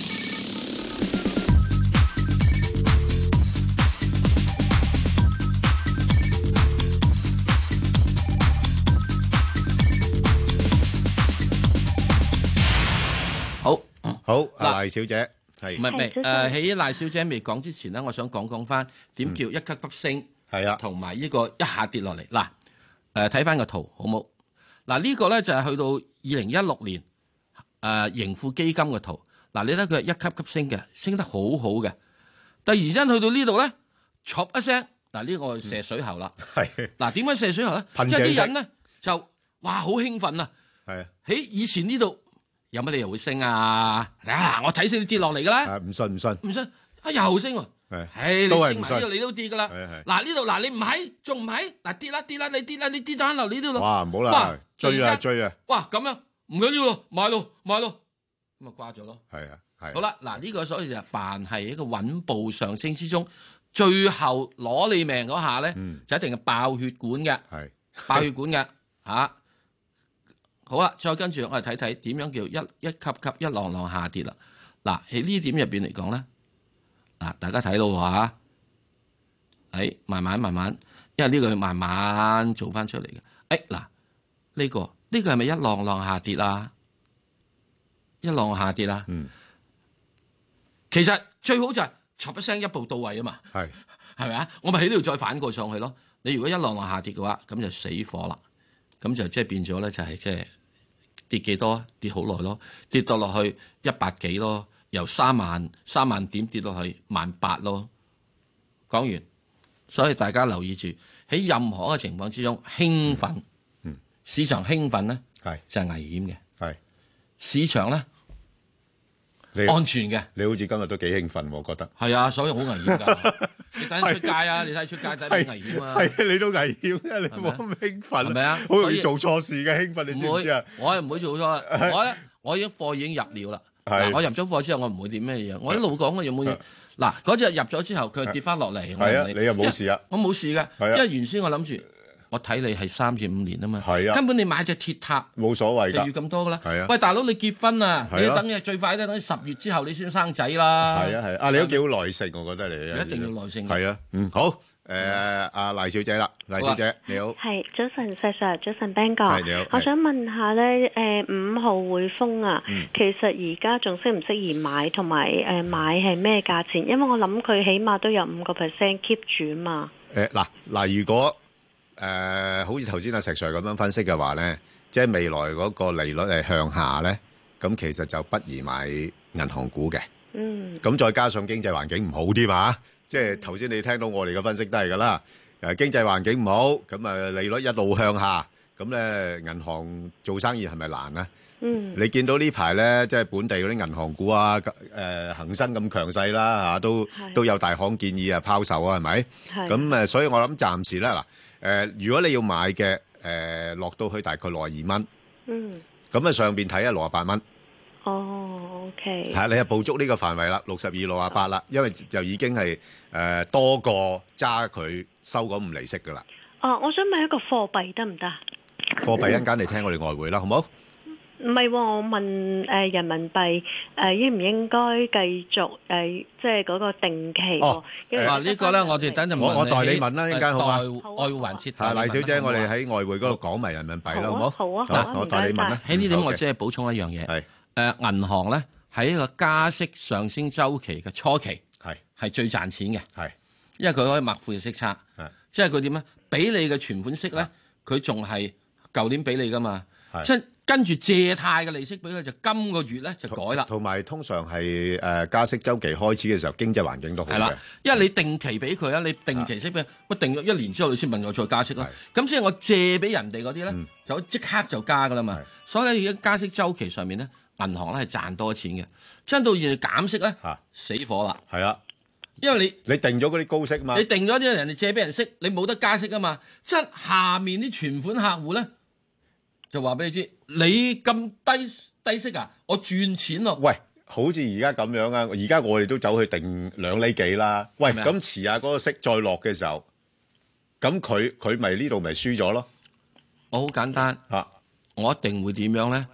好，好，阿賴小姐係唔係唔係誒？喺賴小姐未講之前咧，我想講講翻點叫一級級升， 係啊， 同埋呢個一下跌落嚟嗱。誒睇翻個圖好冇？嗱呢個咧就係去到二零一六年誒盈富基金嘅圖。嗱你睇佢係一級級升嘅，升得好好嘅。突然間去到呢度咧，唰一聲，嗱呢個射水喉啦。係嗱點解射水喉咧？因為啲人咧就哇好興奮啊！係喺以前呢度。有乜理由會升啊？啊！我睇死你跌落嚟噶啦！ 唔信唔信唔信啊！又升喎！係， 都係你升埋呢度你都跌噶啦！嗱呢度嗱你唔係仲唔係？嗱跌啦跌啦你跌啦你跌咗喺樓呢度咯！ 哇唔好啦，追啊追啊！ 哇咁樣唔緊要咯，買咯買咯，咁啊掛咗咯。 係啊係。 好啦，嗱呢個所以就凡係一個穩步上升之中，最後攞你命嗰下咧，就一定係爆血管嘅，係爆血管嘅嚇。好啦，再跟住我哋睇睇點樣叫一一級級一浪浪下跌啦。嗱喺呢點入邊嚟講咧，嗱大家睇到話，誒慢慢慢慢，因為呢個要慢慢做翻出嚟嘅。誒嗱呢個呢個係咪一浪浪下跌啊？一浪下跌啊？嗯，其實最好就係嚓一聲一步到位啊嘛。係係咪啊？我咪喺呢度再反過上去咯。你如果一浪浪下跌嘅話，咁就死火啦。咁就即係變咗咧，就係即係。跌幾多？跌好耐咯，跌到落去一百幾咯，由三萬三萬點跌落去萬八咯。講完，所以大家留意住喺任何嘅情況之中，興奮，嗯嗯、市場興奮咧，係就係、是、危險嘅，係市場咧。安全嘅，你好似今日都幾興奮，我覺得係啊，所以好危險㗎。你等陣出街啊，你睇出街睇幾危險啊？係你都危險啊！你冇咁興奮，係咪啊？好容易做錯事嘅興奮，你知唔知啊？我係唔會做錯，我咧我已經貨已經入了啦。我入咗貨之後，我唔會點咩嘢。我一路講嘅有冇嘢？嗱，嗰隻入咗之後，佢跌翻落嚟。係啊，你又冇事啊？我冇事嘅，因為原先我諗住。我睇你係三至五年啊嘛，係啊，根本你買隻鐵塔冇所謂，就要咁多噶啦。係啊，喂大佬你結婚啊，你要等嘅最快都等十月之後你先生仔啦。係啊係啊，你都幾好耐性，我覺得你一定要耐性。係啊，嗯好，誒阿賴小姐啦，賴小姐你好。係早晨，石 Sir，早晨 Ben 哥。係你好。我想問下咧，誒五號匯豐啊，其實而家仲適唔適宜買，同埋誒買係咩價錢？因為我諗佢起碼都有五個 percent keep 住啊嘛。誒嗱嗱，如果誒、呃，好似頭先阿石 Sir 咁樣分析嘅話咧，即係未來嗰個利率係向下咧，咁其實就不宜買銀行股嘅。嗯。咁再加上經濟環境唔好添嘛，即係頭先你聽到我哋嘅分析都係㗎啦。誒，經濟環境唔好，咁啊利率一路向下，咁咧銀行做生意係咪難咧？嗯。你見到呢排咧，即係本地嗰啲銀行股啊，誒、呃、恆生咁強勢啦嚇，都都有大行建議啊拋售啊，係咪？係。咁誒，所以我諗暫時咧嗱。誒、呃，如果你要買嘅，誒、呃、落到去大概六十二蚊，嗯，咁啊上邊睇下六十八蚊，哦 ，OK，係你係捕捉呢個範圍啦，六十二、六十八啦，因為就已經係誒、呃、多過揸佢收嗰五厘息噶啦。哦，我想問一個貨幣得唔得？貨幣一陣間你聽我哋外匯啦，好唔好？唔係喎，我問誒、呃、人民幣誒、呃、應唔應該繼續誒、呃、即係嗰個定期喎？哦，嗱呢個咧，我哋等陣我我代你問啦，一陣間好嘛？外匯環節，係賴小姐，我哋喺外匯嗰度講埋人民幣啦，好唔好？好啊，好啊，我代你問啦。喺呢點我只係補充一樣嘢，係誒銀行咧喺一個加息上升週期嘅初期，係係最賺錢嘅，係因為佢可以抹負息差，係即係佢點咧？俾你嘅存款息咧，佢仲係舊年俾你噶嘛，即係。跟住借貸嘅利息俾佢，就今個月咧就改啦。同埋通常係誒加息週期開始嘅時候，經濟環境都好嘅。係啦，因為你定期俾佢啊，你定期息俾佢，我定咗一年之後你先問我再加息啦。咁所以我借俾人哋嗰啲咧，就即刻就加噶啦嘛。所以而家加息週期上面咧，銀行咧係賺多錢嘅。真到現在減息咧，死火啦。係啊，因為你你定咗嗰啲高息嘛，你定咗啲人哋借俾人息，你冇得加息啊嘛。即係下面啲存款客戶咧。就話俾你知，你咁低低息啊，我賺錢咯。喂，好似而家咁樣啊，而家我哋都走去定兩厘幾啦。喂，咁遲下嗰個息再落嘅時候，咁佢佢咪呢度咪輸咗咯？我好簡單嚇，我一定會點樣咧？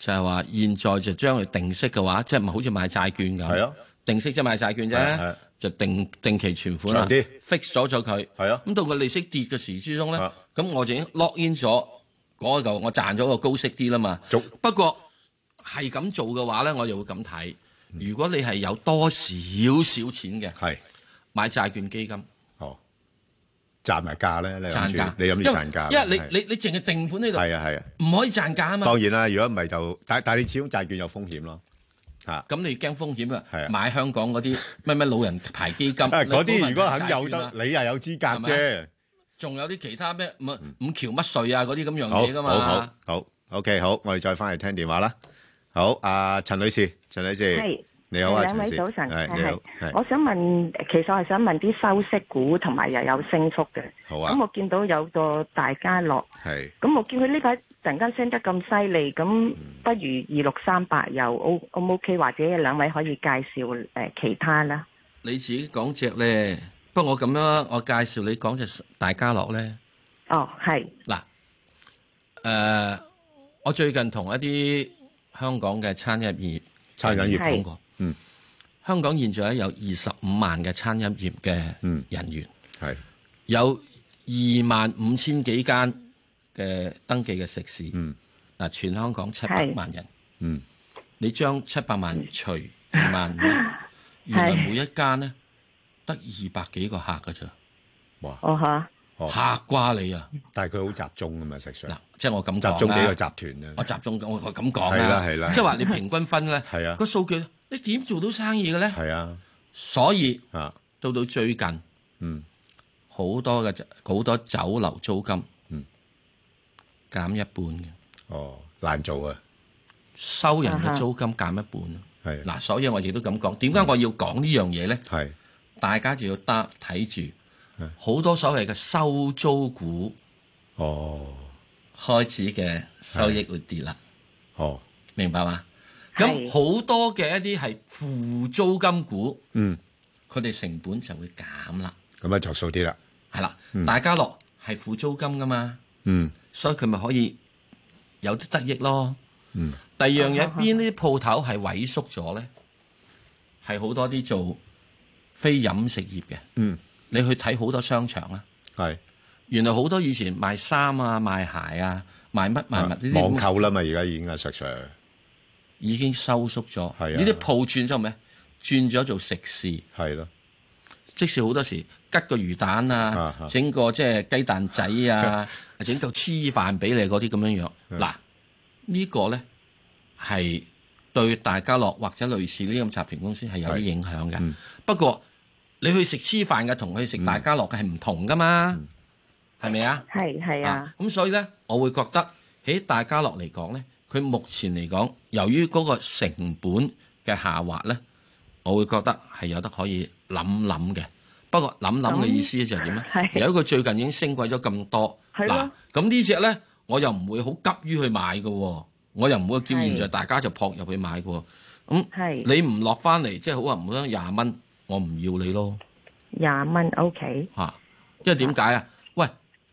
就係話現在就將佢定息嘅話，即係唔係好似買債券咁？ 係啊， 定息即係買債券啫，就定定期存款啦，fix 咗咗佢。係啊，咁到個利息跌嘅時之中咧，咁我就已經 lock in 咗嗰嚿，我賺咗個高息啲啦嘛。不過係咁做嘅話咧，我就會咁睇。如果你係有多少少錢嘅，係買債券基金。哦， 賺埋價咧，你賺價， 你諗住賺價？ 因為你你你淨係定款呢度， 係啊係啊， 唔可以賺價啊嘛。 當然啦，如果唔係就，但但係你始終債券有風險咯。嚇， 咁你驚風險啊？買香港嗰啲咩咩老人牌基金， 嗰啲如果肯有得，你又有資格啫。 仲有啲其他咩五五橋乜稅啊嗰啲咁樣嘢噶嘛？ 好好好 OK 好，我哋再翻嚟聽電話啦。好，阿陳女士，陳女士， 係你好啊， 兩位早晨， 係你好，係。 我想問，其實我係想問啲收息股同埋又有升幅嘅。 好啊。 咁我見到有個大家樂， 係。 咁我見佢呢排突然間升得咁犀利，咁不如二六三八又 O 唔 OK，或者兩位可以介紹誒其他啦。 你自己講隻咧，不過我咁樣，我介紹你講隻大家樂咧。 哦，係。 嗱，誒，我最近同一啲香港嘅餐飲業餐飲業講過，嗯，香港現在有二十五萬嘅餐飲業嘅人員，係、嗯、有二萬五千幾間嘅登記嘅食肆，嗯，嗱，全香港七百萬人，嗯，你將七百萬除二萬五，原來每一間咧得二百幾個客㗎咋，哇， 哦嚇。 嚇瓜你啊！ 但係佢好集中㗎嘛，食上嗱， 即係我咁講集中幾個集團啊！ 我集中我我咁講啦，係啦係啦， 即係話你平均分咧， 係啊， 個數據你點做到生意嘅咧？ 係啊， 所以啊， 到到最近，嗯，好多嘅好多酒樓租金，嗯，減一半嘅。 哦，難做啊！ 收人嘅租金減一半啊！係嗱，所以我亦都咁講。點解我要講呢樣嘢咧？係大家就要得睇住。好多所謂嘅收租股，哦，開始嘅收益會跌啦，哦，明白嘛？咁好多嘅一啲係負租金股，嗯，佢哋成本就會減啦， 咁啊着數啲啦， 係啦，大家樂係負租金噶嘛， 嗯， 所以佢咪可以有啲得益咯，嗯，第二樣嘢邊啲鋪頭係萎縮咗咧？係好多啲做非飲食業嘅，嗯。你去睇好多商場啦，係原來好多以前賣衫啊、賣鞋啊、賣乜賣物呢啲網購啦嘛，而家已經係實上已經收縮咗。係啊，呢啲鋪轉咗咩？轉咗做食肆，係咯。即使好多時吉個魚蛋啊，整個即係雞蛋仔啊，整嚿黐飯俾你嗰啲咁樣樣。嗱，呢個咧係對大家樂或者類似呢咁集團公司係有啲影響嘅。不過你去食黐飯嘅同去食大家樂嘅係唔同噶嘛，係咪啊？ 係係啊。咁所以咧，我會覺得喺大家樂嚟講咧，佢目前嚟講，由於嗰個成本嘅下滑咧，我會覺得係有得可以諗諗嘅。不過諗諗嘅意思就係點咧？由於佢最近已經升貴咗咁多，嗱，咁呢隻咧，我又唔會好急於去買嘅，我又唔會叫現在大家就撲入去買嘅。咁你唔落翻嚟，即係好話唔好聽廿蚊。我唔要你咯， 廿蚊 OK 嚇，因為點解啊？喂，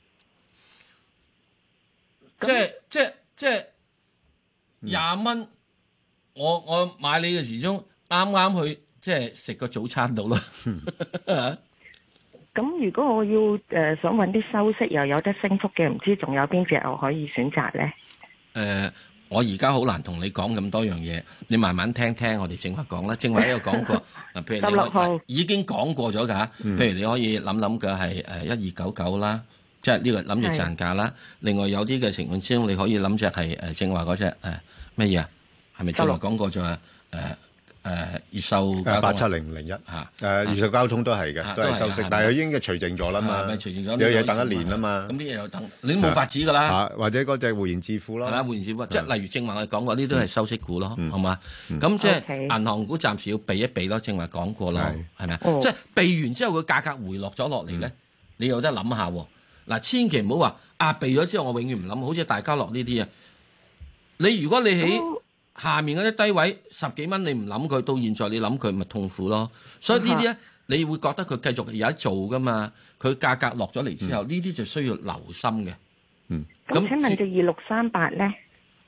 即係即係即係廿蚊，我我買你嘅時鐘啱啱去即係食個早餐到咯。 咁如果我要誒想揾啲收息又有得升幅嘅，唔知仲有邊隻我可以選擇咧？ 誒。我而家好難同你講咁多樣嘢，你慢慢聽聽我哋正話講啦。正話呢個講過，嗱，譬如你已經講過咗㗎。譬如你可以諗諗嘅係誒一二九九啦，即係呢個諗住賺價啦。另外有啲嘅情況之中，你可以諗隻係誒正話嗰隻誒乜嘢啊？係咪正話講過咗啊？誒誒越秀八七零零一嚇誒越秀交通都係嘅，都係收息，但係佢已經嘅除淨咗啦嘛，除淨咗有嘢等一年啊嘛， 咁啲嘢又等，你都冇法子㗎啦。 或者嗰隻匯賢致富咯， 係啦，匯賢致富，即係例如正話我哋講過，呢啲都係收息股咯，係嘛？咁即係銀行股暫時要避一避咯，正話講過啦，係咪啊？即係避完之後，佢價格回落咗落嚟咧，你有得諗下喎。嗱，千祈唔好話啊，避咗之後我永遠唔諗，好似大家樂呢啲啊，你如果你喺下面嗰啲低位十幾蚊，你唔諗佢，到現在你諗佢，咪痛苦咯。所以呢啲咧，你會覺得佢繼續有得做噶嘛？佢價格落咗嚟之後，呢啲就需要留心嘅。 嗯。咁請問隻二六三八咧？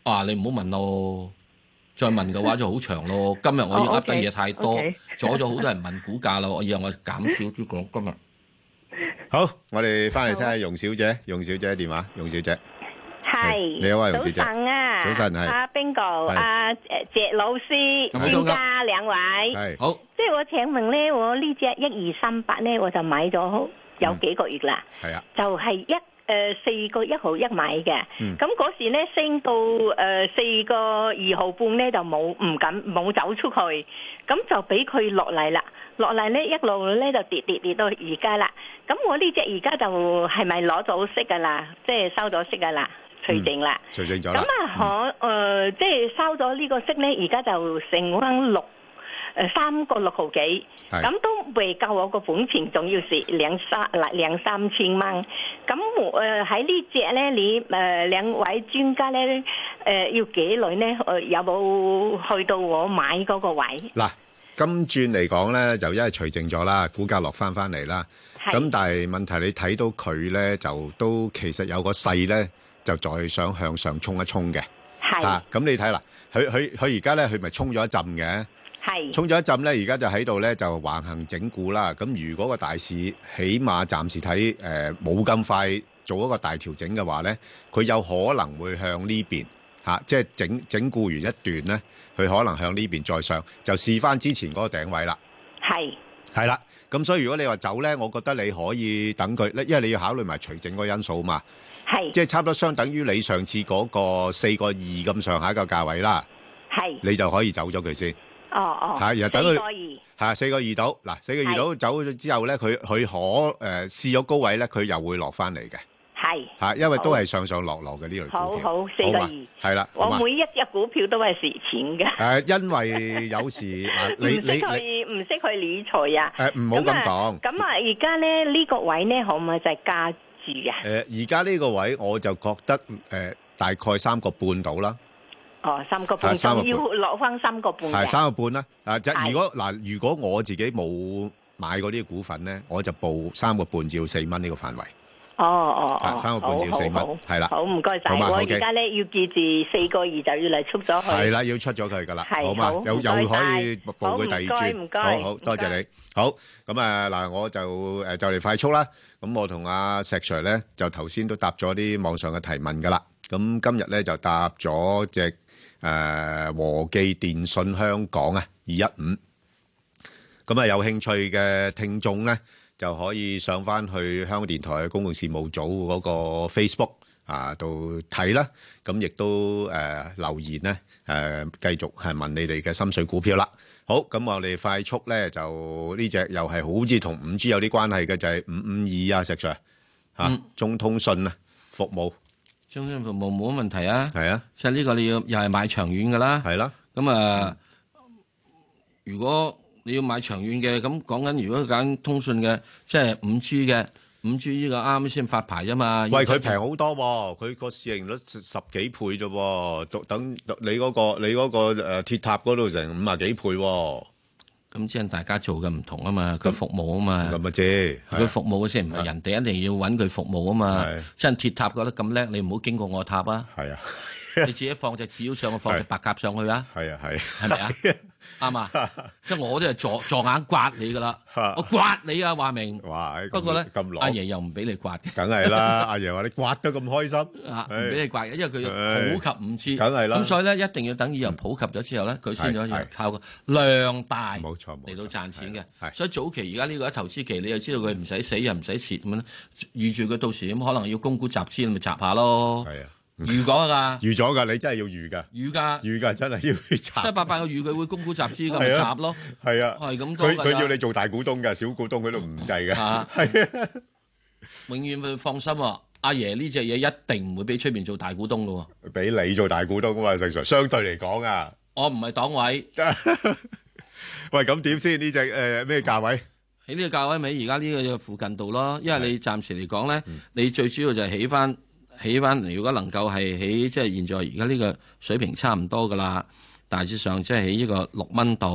啊，你唔好問咯，再問嘅話就好長咯。今日我要噏得嘢太多，阻咗好多人問股價啦。我以後我減少啲講今日。 好，我哋翻嚟聽下容小姐，容小姐電話，容小姐。 係， 你好啊，容小姐。 早晨啊， 早晨係。 阿 Bingo，阿誒謝老師，專家兩位。 係。好。 即係我請問咧，我呢隻一二三八咧，我就買咗有幾個月啦。係啊。就係一。誒四個一毫一買嘅，咁嗰、嗯、時咧升到誒四個二毫半咧就冇唔敢冇走出去，咁就俾佢落嚟啦，落嚟咧一路咧就跌跌跌到而家啦。咁我呢隻而家就係咪攞咗息噶啦？即係收咗息噶啦，除淨啦， 除淨咗啦。咁啊可誒即係收咗呢個息咧，而家就成翻六。誒三個六毫幾，咁都未夠我個本錢，仲要蝕兩三兩三千蚊。咁誒喺呢隻咧，你誒、呃、兩位專家咧誒、呃、要幾耐咧？誒有冇去到我買嗰個位？ 嗱，今轉嚟講咧，就因為除淨咗啦，股價落翻翻嚟啦。咁但係問題你睇到佢咧，就都其實有個勢咧，就再想向上衝一衝嘅。係。啊，咁你睇啦，佢佢佢而家咧，佢咪衝咗一陣嘅。係衝咗一陣咧，而家就喺度咧就橫行整固啦。咁如果個大市起碼暫時睇誒冇咁快做一個大調整嘅話咧，佢有可能會向呢邊嚇，即係整整固完一段咧，佢可能向呢邊再上，就試翻之前嗰個頂位啦。係係啦，咁所以如果你話走咧，我覺得你可以等佢咧，因為你要考慮埋除淨嗰個因素嘛。係即係差唔多相等於你上次嗰個四個二咁上下一個價位啦。係你就可以走咗佢先。哦哦，係，然後等佢係四個二到，嗱四個二到走咗之後咧，佢佢可誒試咗高位咧，佢又會落翻嚟嘅。係嚇，因為都係上上落落嘅呢類股票。好好，四個二係啦。我每一隻股票都係蝕錢嘅。誒，因為有時嗱，你你你唔識去理財啊？誒，唔好咁講。咁啊，而家咧呢個位咧，可唔可以就係加注啊？誒，而家呢個位我就覺得誒大概三個半到啦。哦，三個半，仲要落翻三個半嘅。係三個半啦。啊，即係如果嗱，如果我自己冇買嗰啲股份咧，我就報三個半至到四蚊呢個範圍。哦哦哦，三個半至到四蚊，係啦。好，唔該晒。我而家咧要記住四個二就要嚟出咗去。係啦，要出咗佢噶啦，好嘛？又又可以報佢第二轉。唔該，好好多謝你。好，咁啊嗱，我就誒就嚟快速啦。咁我同阿石 Sir 咧就頭先都答咗啲網上嘅提問噶啦。咁今日咧就答咗隻。誒、呃、和記電訊香港啊，二一五，咁啊有興趣嘅聽眾咧，就可以上翻去香港電台嘅公共事務組嗰個 Facebook 啊度睇啦。咁亦都誒、呃、留言咧，誒、呃、繼續係問你哋嘅心水股票啦。好，咁我哋快速咧就呢隻又係好似同五 G 有啲關係嘅，就係五五二啊，石 Sir 嚇、嗯，中通訊啊服務。中興服務冇乜問題啊，係啊，即係呢個你要又係買長遠㗎啦，係啦。咁啊，如果你要買長遠嘅，咁講緊如果揀通訊嘅，即係五 G 嘅，五 G 呢個啱先發牌啫嘛。喂，佢平好多喎，佢個市盈率十幾倍啫喎，等你嗰個你嗰個誒鐵塔嗰度成五啊幾倍喎。咁即係大家做嘅唔同啊嘛，佢服務啊嘛，咁咪啫。佢服務嘅先唔係人哋一定要揾佢服務啊嘛。即係鐵塔覺得咁叻，你唔好經過我塔啊。係啊，你自己放隻紙上去，放隻白鴿上去啊。係啊係，係咪啊？啱啊！即係我都係撞撞眼刮你噶啦，我刮你啊！話明。哇！不過咧，阿爺又唔俾你刮嘅。梗係啦，阿爺話你刮得咁開心，唔俾你刮嘅，因為佢普及五 G。梗係啦。咁所以咧，一定要等以後普及咗之後咧，佢先可以靠個量大，冇錯，嚟到賺錢嘅。所以早期而家呢個投資期，你又知道佢唔使死又唔使蝕咁樣，預住佢到時咁可能要供股集資，你咪集下咯。係啊。預咗噶，預咗噶，你真係要預噶，預噶，預噶，真係要集。即係八八個預佢會供股集資咁咪集咯，係啊，係咁多噶。佢佢要你做大股東噶，小股東佢都唔制噶。係啊，永遠佢放心喎，阿爺呢隻嘢一定唔會俾出面做大股東噶。俾你做大股東噶嘛，正常相對嚟講啊。我唔係黨委。喂，咁點先？呢隻誒咩價位？喺呢個價位咪而家呢個附近度咯，因為你暫時嚟講咧，你最主要就係起翻。起翻嚟，如果能夠係起，即係現在而家呢個水平差唔多噶啦，大致上即係起呢個六蚊到，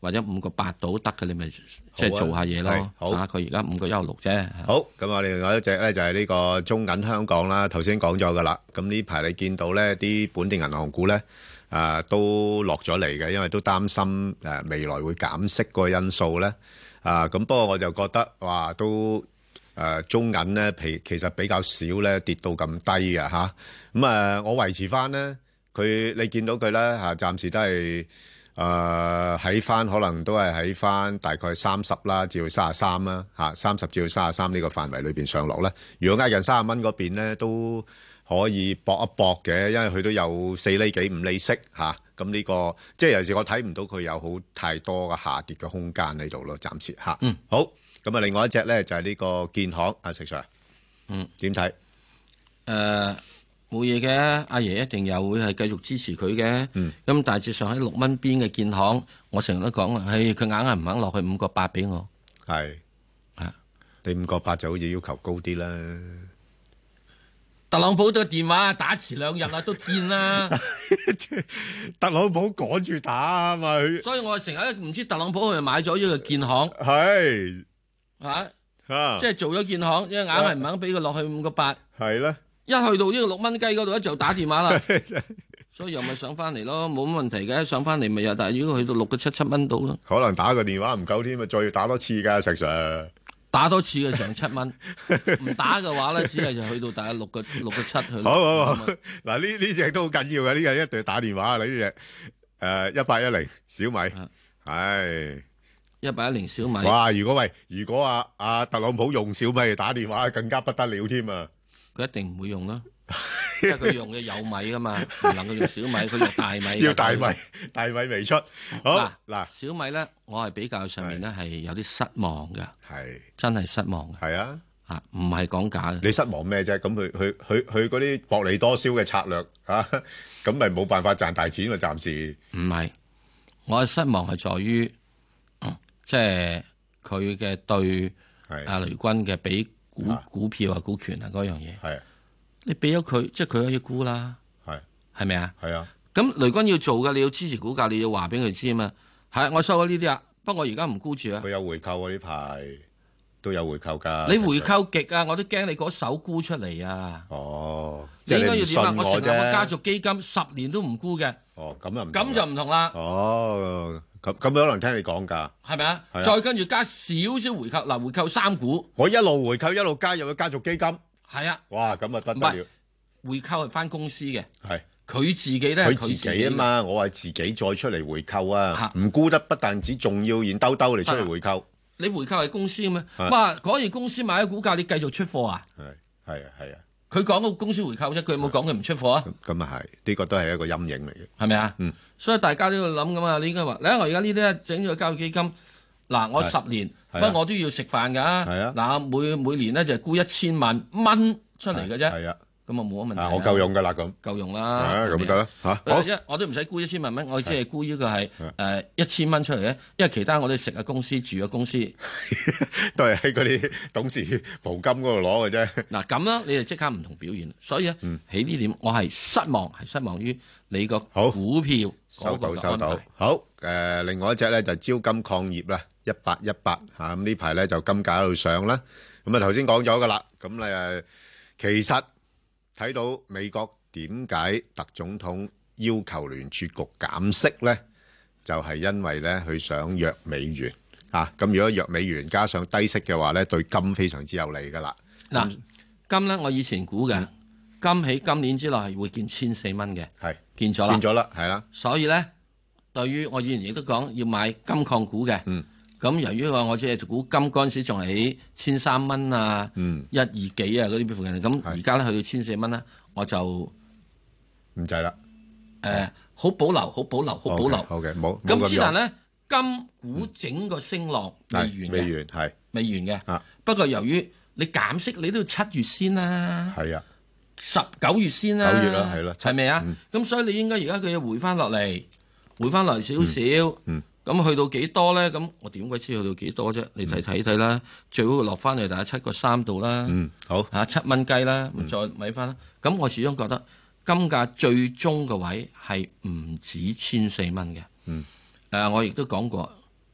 或者五個八到得嘅，你咪即係做下嘢咯。 好， 佢而家五個一毫六啫。 好，咁我哋另外一隻咧就係呢個中銀香港啦。頭先講咗噶啦，咁呢排你見到咧啲本地銀行股咧啊都落咗嚟嘅，因為都擔心誒未來會減息個因素咧啊。咁不過我就覺得哇都誒中銀咧其其實比較少咧跌到咁低嘅嚇。咁啊我維持翻咧，佢你見到佢咧嚇，暫時都係。誒喺翻可能都係喺翻大概三十啦，至到三十三啦嚇，三十至到三十三呢個範圍裏邊上落咧。如果挨近三十蚊嗰邊咧，都可以搏一搏嘅，因為佢都有四厘幾五厘息嚇。咁呢個即係有時我睇唔到佢有好太多嘅下跌嘅空間喺度咯，暫時嚇。嗯，好。咁啊，另外一隻咧就係呢個建行，阿石 Sir，嗯，點睇？誒。冇嘢嘅，阿爺一定又會係繼續支持佢嘅。咁、嗯、大致上喺六蚊邊嘅建行，我成日都講啊，佢硬係唔肯落去五個八俾我。係啊，你五個八就好似要求高啲啦。特朗普嘅電話打遲兩日啦，都見啦。特朗普趕住打啊嘛，所以我成日唔知特朗普係咪買咗呢個建行。係啊，啊即係做咗建行，因為硬係唔肯俾佢落去五個八。係咧。一去到呢個六蚊雞嗰度，一就打電話啦，所以又咪上翻嚟咯，冇乜問題嘅，上翻嚟咪又。但係如果去到六個七七蚊到咯，可能打個電話唔夠添啊，再要打多次噶，石 Sir。打多次嘅成七蚊，唔打嘅話咧，只係就去到大概六個六個七去。好好好，嗱呢呢隻都好緊要嘅，呢個一定要打電話。你呢隻誒一八一零小米，係一八一零小米。哇！如果喂，如果阿阿特朗普用小米嚟打電話，更加不得了添啊！佢一定唔會用啦，因為佢用嘅有米噶嘛，唔能夠用小米，佢用大米。要大米，大米未出。好嗱，小米咧，我係比較上面咧係有啲失望嘅，係真係失望嘅。係啊，啊唔係講假嘅。你失望咩啫？咁佢佢佢佢嗰啲薄利多銷嘅策略啊，咁咪冇辦法賺大錢喎？暫時唔係，我嘅失望係在於，即係佢嘅對阿雷軍嘅比。股股票啊，股權啊，嗰樣嘢係你俾咗佢，即係佢可以沽啦，係係咪啊？係啊。咁雷軍要做嘅，你要支持股價，你要話俾佢知啊嘛。係我收咗呢啲啊，不過我而家唔沽住啊。佢有回購啊，呢排都有回購㗎。你回購極啊，我都驚你嗰手沽出嚟啊。哦，你應該要點啊？我成立個家族基金，十年都唔沽嘅。哦，咁又唔咁就唔同啦。哦。咁咁可能聽你講㗎，係咪啊？再跟住加少少回購，嗱回購三股，我一路回購一路加入去家族基金，係啊，哇咁啊不得了！回購係翻公司嘅，係佢自己咧，佢自己啊嘛，我係自己再出嚟回購啊，唔沽得不但止，仲要現兜兜嚟出嚟回購。你回購係公司嘅咩？哇！嗰件公司買咗股價，你繼續出貨啊？係係啊係啊。佢講個公司回購啫，佢有冇講佢唔出貨啊？咁啊係，呢個都係一個陰影嚟嘅，係咪啊？嗯，所以大家都要諗噶嘛。你應該話，你睇我而家呢啲咧整咗個交易基金，嗱我十年，不過我都要食飯㗎。係啊，嗱每每年咧就係沽一千萬蚊出嚟嘅啫。係啊，咁啊冇乜問題。我夠用㗎啦，咁夠用啦。咁得啦嚇。好，一我都唔使沽一千萬蚊，我只係沽呢個係誒一千蚊出嚟咧，因為其他我哋食嘅公司住嘅公司都係喺嗰啲董事袍金嗰度攞嘅啫。嗱咁啦，你哋即刻唔同表現，所以咧喺呢點我係失望，係失望於你個股票收到收到。好誒，另外一隻咧就招金礦業啦，一八一八嚇咁呢排咧就金價喺度上啦。咁啊頭先講咗㗎啦，咁你誒其實。睇到美國點解特總統要求聯儲局減息咧？就係因為咧佢想弱美元啊！咁如果弱美元加上低息嘅話咧，對金非常之有利噶啦。嗱，金咧我以前估嘅金喺今年之內係會見千四蚊嘅，係見咗啦，見咗啦，係啦。所以咧，對於我以前亦都講要買金礦股嘅，嗯。咁由於話我只係估金嗰陣時仲係喺千三蚊啊，嗯、一二幾啊嗰啲附近，咁而家咧去到千四蚊啦，我就唔制啦。誒，好保留，好保留，好保留。好嘅，冇。咁之但咧，金股整個升浪未完嘅，未完係未完嘅。啊，不過由於你減息，你都要七月先啦。係啊，十九月先啦。九月啦，係啦，係咪啊？咁所以你應該而家佢要回翻落嚟，回翻落嚟少少。嗯。咁去到幾多咧？咁我點鬼知去到幾多啫？你睇睇睇啦，最好落翻嚟大概七個三度啦。嗯，好嚇七蚊雞啦，咁再買翻啦。咁我始終覺得金價最終嘅位係唔止千四蚊嘅。嗯，誒，我亦都講過，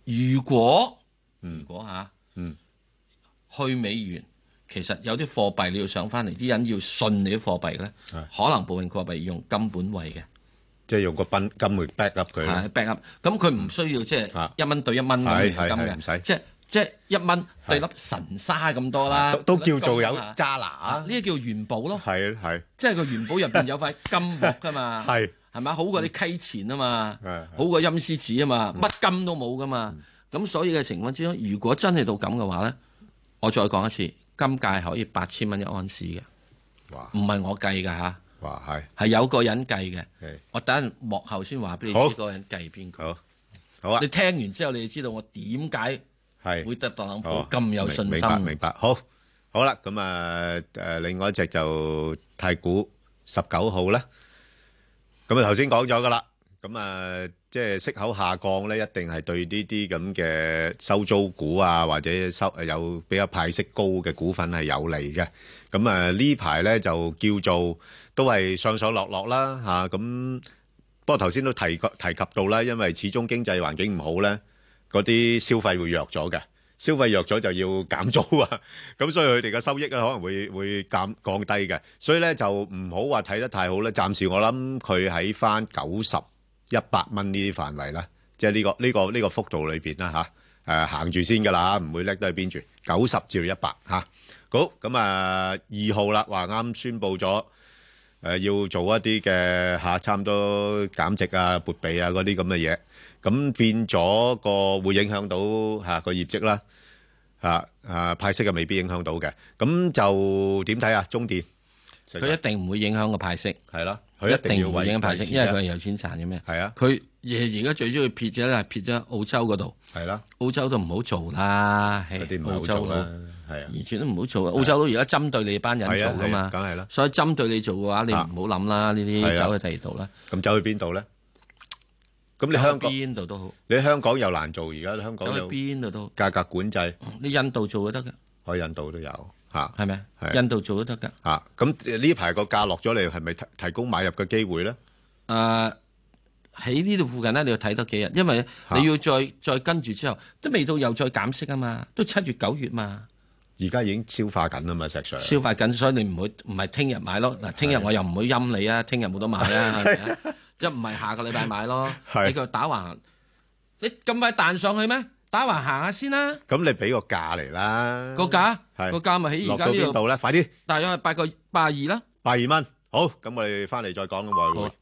如果、 嗯、 如果嚇、啊， 嗯， 去美元，其實有啲貨幣你要上翻嚟，啲人要信你啲貨幣咧，可能部分貨幣要用金本位嘅， 即係用個金金去 back up 佢。 係 back up，咁佢唔需要即係一蚊對一蚊咁現金嘅，唔使，即係即係一蚊對粒神沙咁多啦， 都都叫做有揸拿， 呢啲叫元寶咯， 係係， 即係個元寶入邊有塊金鑊噶嘛，係係咪好過啲溪錢啊嘛，好過陰司紙啊嘛，乜金都冇噶嘛，咁所以嘅情況之中，如果真係到咁嘅話咧，我再講一次，金價可以八千蚊一盎司嘅，唔係我計㗎嚇。 哇，係係有個人計嘅，我等陣幕後先話俾你知嗰個人計邊個。好，好啊！你聽完之後，你就知道我點解會得特朗普咁有信心。 明白，明白。好，好啦，咁啊誒，另外一隻就太古十九號啦。咁啊頭先講咗噶啦，咁啊即係息口下降咧，一定係對呢啲咁嘅收租股啊，或者收誒有比較派息高嘅股份係有利嘅。咁啊呢排咧就叫做都係上上落落啦嚇。咁不過頭先都提及提及到啦，因為始終經濟環境唔好咧，嗰啲消費會弱咗嘅，消費弱咗就要減租啊。咁所以佢哋嘅收益咧可能會會減降低嘅，所以咧就唔好話睇得太好咧。暫時我諗佢喺翻九十一百蚊呢啲範圍啦，即係呢個呢個呢個幅度裏邊啦嚇。誒行住先㗎啦，唔會叻得去邊住，九十至到一百嚇。好，咁啊二號啦，話啱宣佈咗誒要做一啲嘅嚇，差唔多減值啊、撥備啊嗰啲咁嘅嘢，咁變咗個會影響到嚇個業績啦，嚇啊派息啊未必影響到嘅，咁就點睇啊？中電佢一定唔會影響個派息， 係咯， 佢一定唔會影響派息，因為佢係有錢賺嘅咩？ 係啊， 佢而而家最中意撇咗咧，撇咗澳洲嗰度， 係啦， 澳洲都唔好做啦， 嗰啲唔好澳洲做啦。係啊， 完全都唔好做啊！澳洲都而家針對你班人做噶嘛， 梗係啦。 所以針對你做嘅話，你唔好諗啦，呢啲走去第二度啦。 咁走去邊度咧？咁你香港邊度都好， 你香港又難做，而家香港走去邊度都好價格管制。 你印度做都得㗎， 可以印度都有嚇， 係咪？印度做都得㗎嚇。咁呢排個價落咗嚟，係咪提提供買入嘅機會咧？ 誒喺呢度附近咧，你要睇多幾日，因為你要再再跟住之後，都未到又再減息啊嘛，都七月九月嘛。 而家已經消化緊啦嘛，石 Sir。 消化緊，所以你唔會唔係聽日買咯。嗱，聽日我又唔會陰你啊，聽日冇得買啊，係咪啊？一唔係下個禮拜買咯。你個打橫，你咁快彈上去咩？打橫行下先啦。 咁你俾個價嚟啦。 個價個價咪喺而家呢度咧？快啲。 大約係八個八二啦。 八二蚊。好，咁我哋翻嚟再講咁話會。